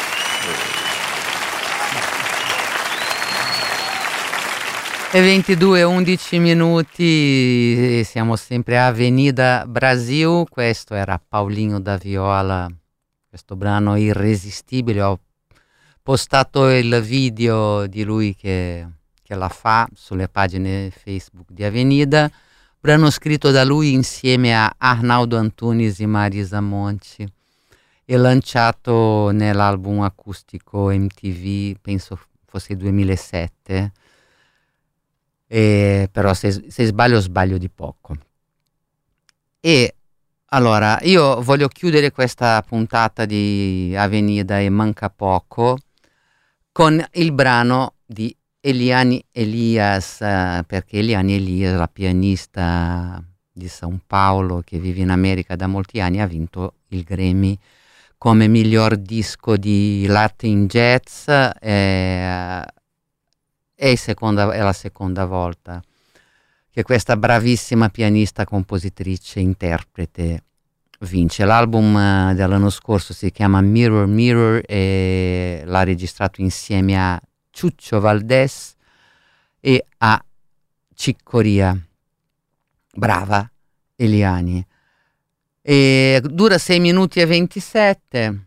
E 22:11 minuti, siamo sempre a Avenida Brasil. Questo era Paulinho da Viola, questo brano irresistibile. Ho postato il video di lui che la fa sulle pagine Facebook di Avenida, brano scritto da lui insieme a Arnaldo Antunes e Marisa Monti e lanciato nell'album acustico MTV, penso fosse 2007. Però se sbaglio di poco. E allora io voglio chiudere questa puntata di Avenida e manca poco con il brano di Eliane Elias, perché Eliane Elias, la pianista di São Paulo che vive in America da molti anni, ha vinto il Grammy come miglior disco di Latin Jazz. È la seconda volta che questa bravissima pianista, compositrice, interprete vince. L'album dell'anno scorso si chiama Mirror Mirror e l'ha registrato insieme a Chucho Valdés e a Chick Corea. Brava Eliane. E dura 6 minuti e 27.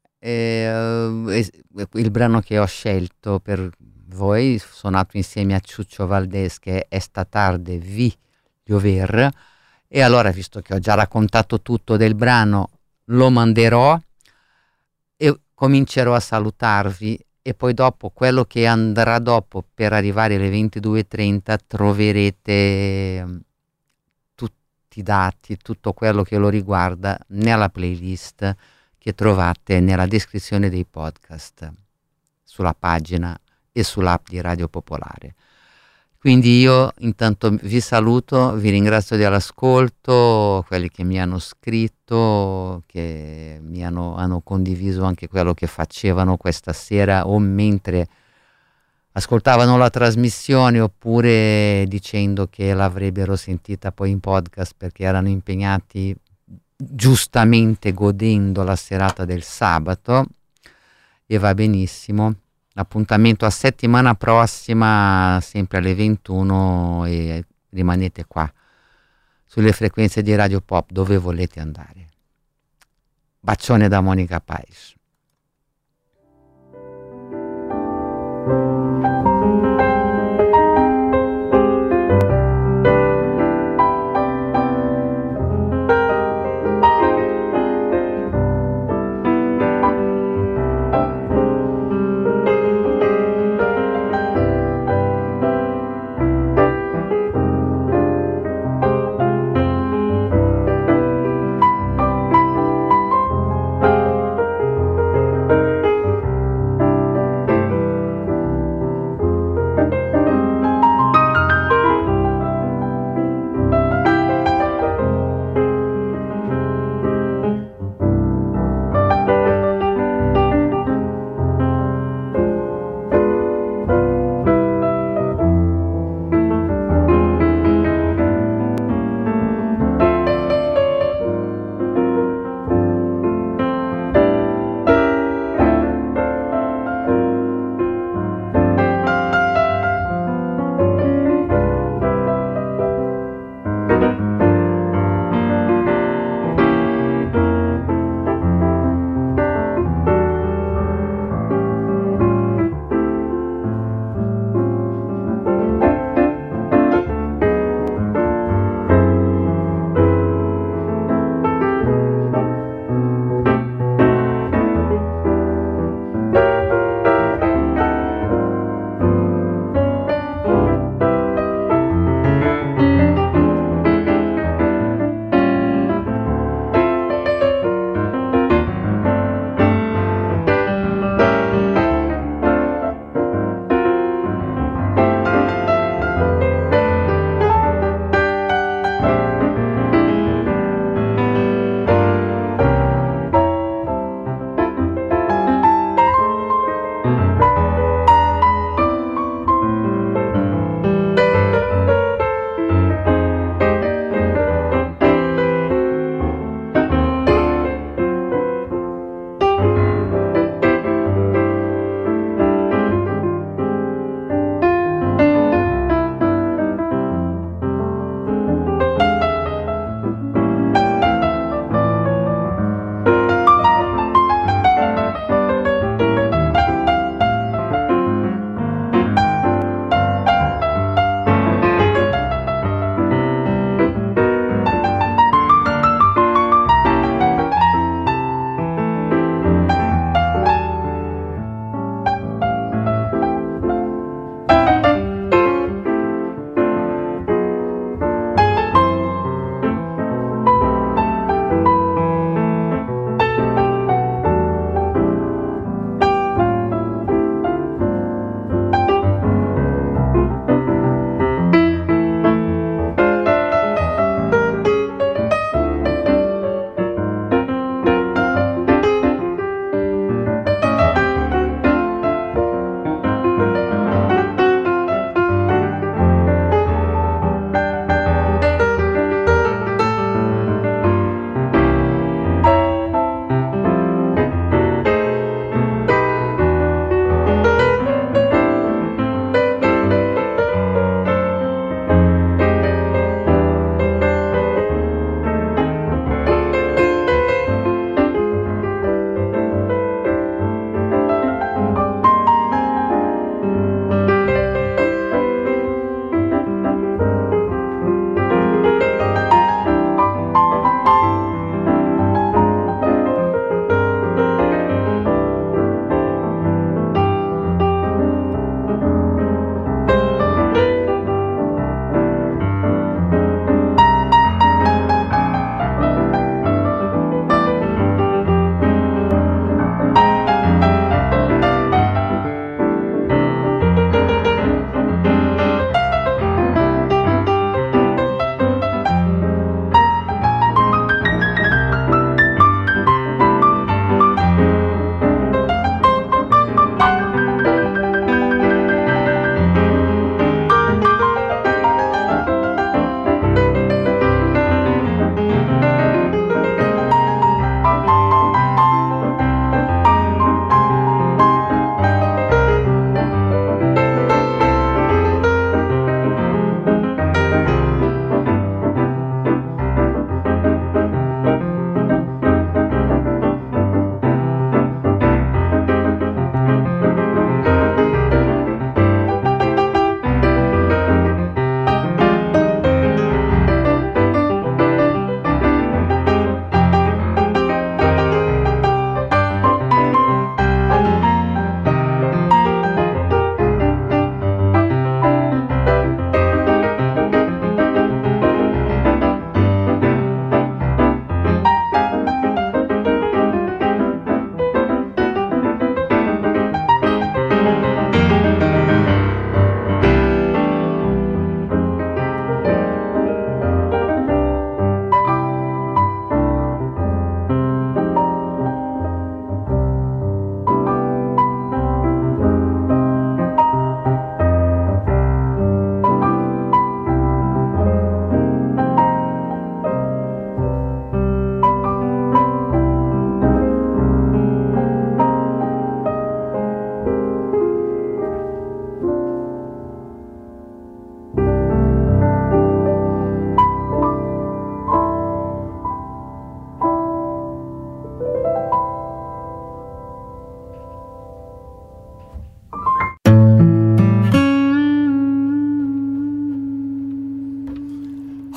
Il brano che ho scelto per voi, suonato insieme a Chucho Valdés, che è Esta tarde vi llover. E allora, visto che ho già raccontato tutto del brano, lo manderò e comincerò a salutarvi, e poi dopo, quello che andrà dopo per arrivare alle 22:30, troverete tutti i dati, tutto quello che lo riguarda nella playlist che trovate nella descrizione dei podcast, sulla pagina e sull'app di Radio Popolare. Quindi io intanto vi saluto, vi ringrazio dell'ascolto, quelli che mi hanno scritto, che mi hanno condiviso anche quello che facevano questa sera o mentre ascoltavano la trasmissione, oppure dicendo che l'avrebbero sentita poi in podcast perché erano impegnati, giustamente godendo la serata del sabato, e va benissimo. Appuntamento a settimana prossima, sempre alle 21, e rimanete qua sulle frequenze di Radio Pop dove volete andare. Bacione da Monica Paes.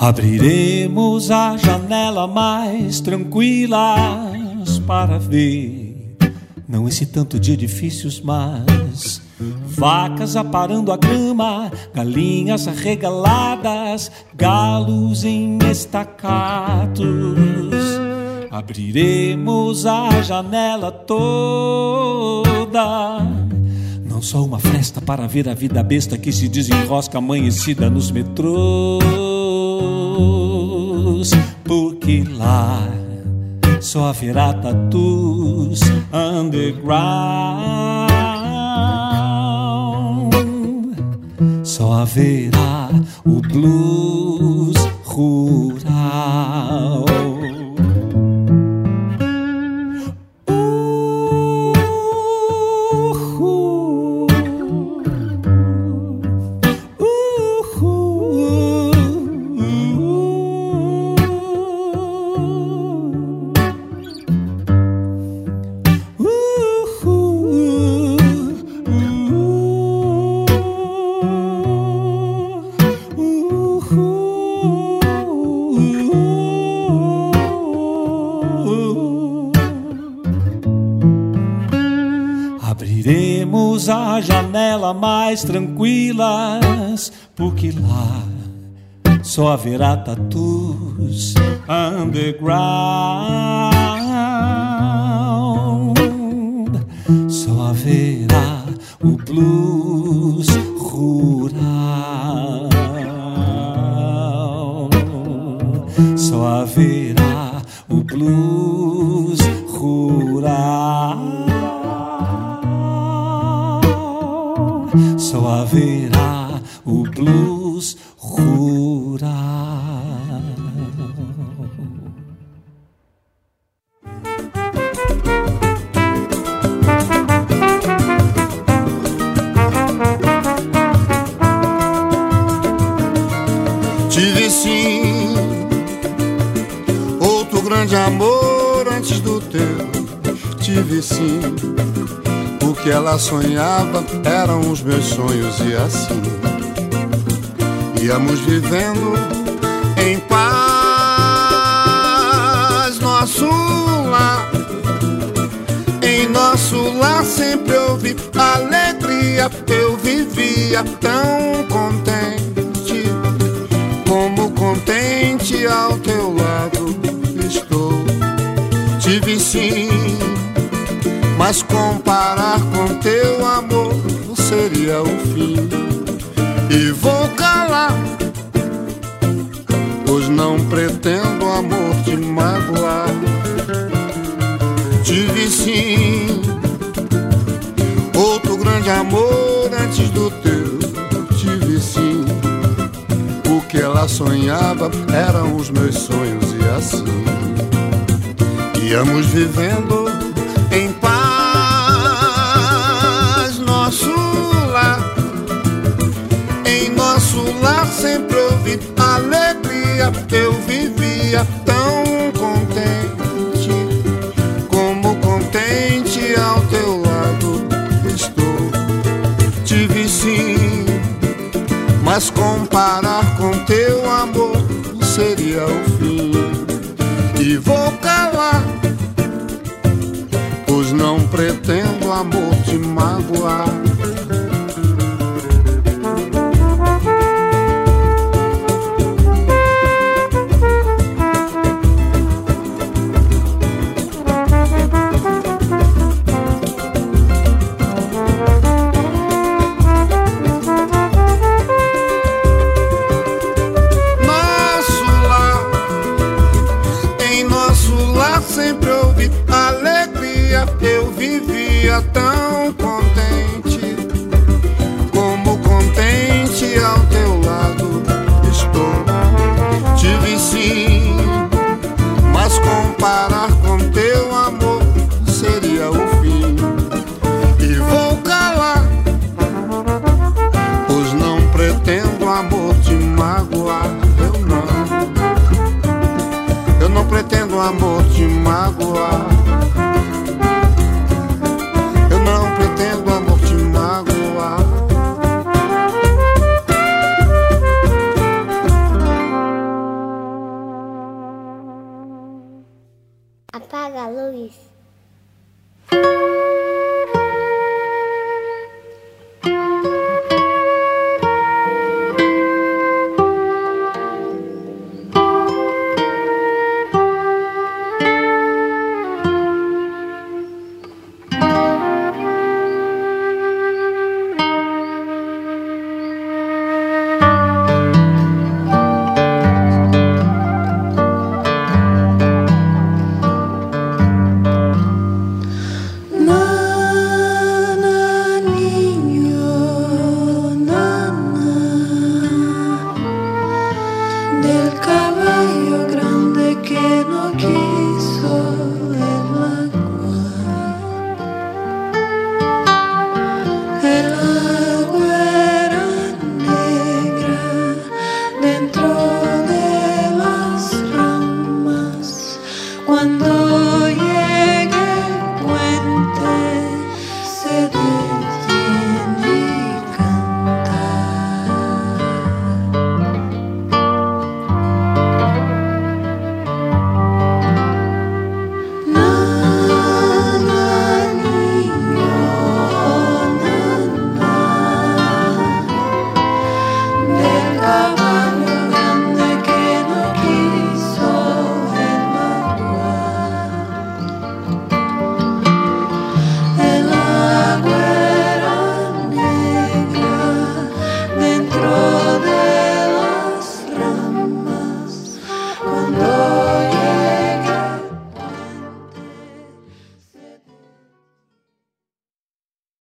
Abriremos a janela mais tranquilas para ver, não esse tanto de edifícios, mas vacas aparando a grama, galinhas arregaladas, galos em estacatos. Abriremos a janela toda, não só uma fresta para ver a vida besta que se desenrosca amanhecida nos metrôs, porque lá só haverá tatus underground, só haverá o blues rural. Abriremos a janela mais tranquilas, porque lá só haverá tatus underground, só haverá o blues rural, só haverá o blues rural, só haverá o blues rural. Tive sim outro grande amor antes do teu. Tive sim o que ela sonhava, eram os meus sonhos, e assim íamos vivendo em paz. Nosso lar, em nosso lar sempre houve alegria. Eu vivia tão contente, como contente ao teu lado estou. Tive sim, mas comparar com teu amor seria o fim. E vou calar, pois não pretendo, amor, te magoar. Tive sim outro grande amor antes do teu. Tive sim o que ela sonhava, eram os meus sonhos, e assim íamos vivendo em paz. Nosso lar, em nosso lar sempre houve alegria. Eu vivia tão contente, como contente ao teu lado estou. Tive sim, mas comparar com teu amor seria o fim. E vou calar, pois não pretendo, amor, te magoar. Nosso lar, em nosso lar sempre houve alegria. Eu vivia tão contente, como contente ao teu lado estou. Tive sim, mas comparar com teu amor seria o fim. E vou calar, pois não pretendo, amor, te magoar. Eu não pretendo, amor, te magoar. Eu não quero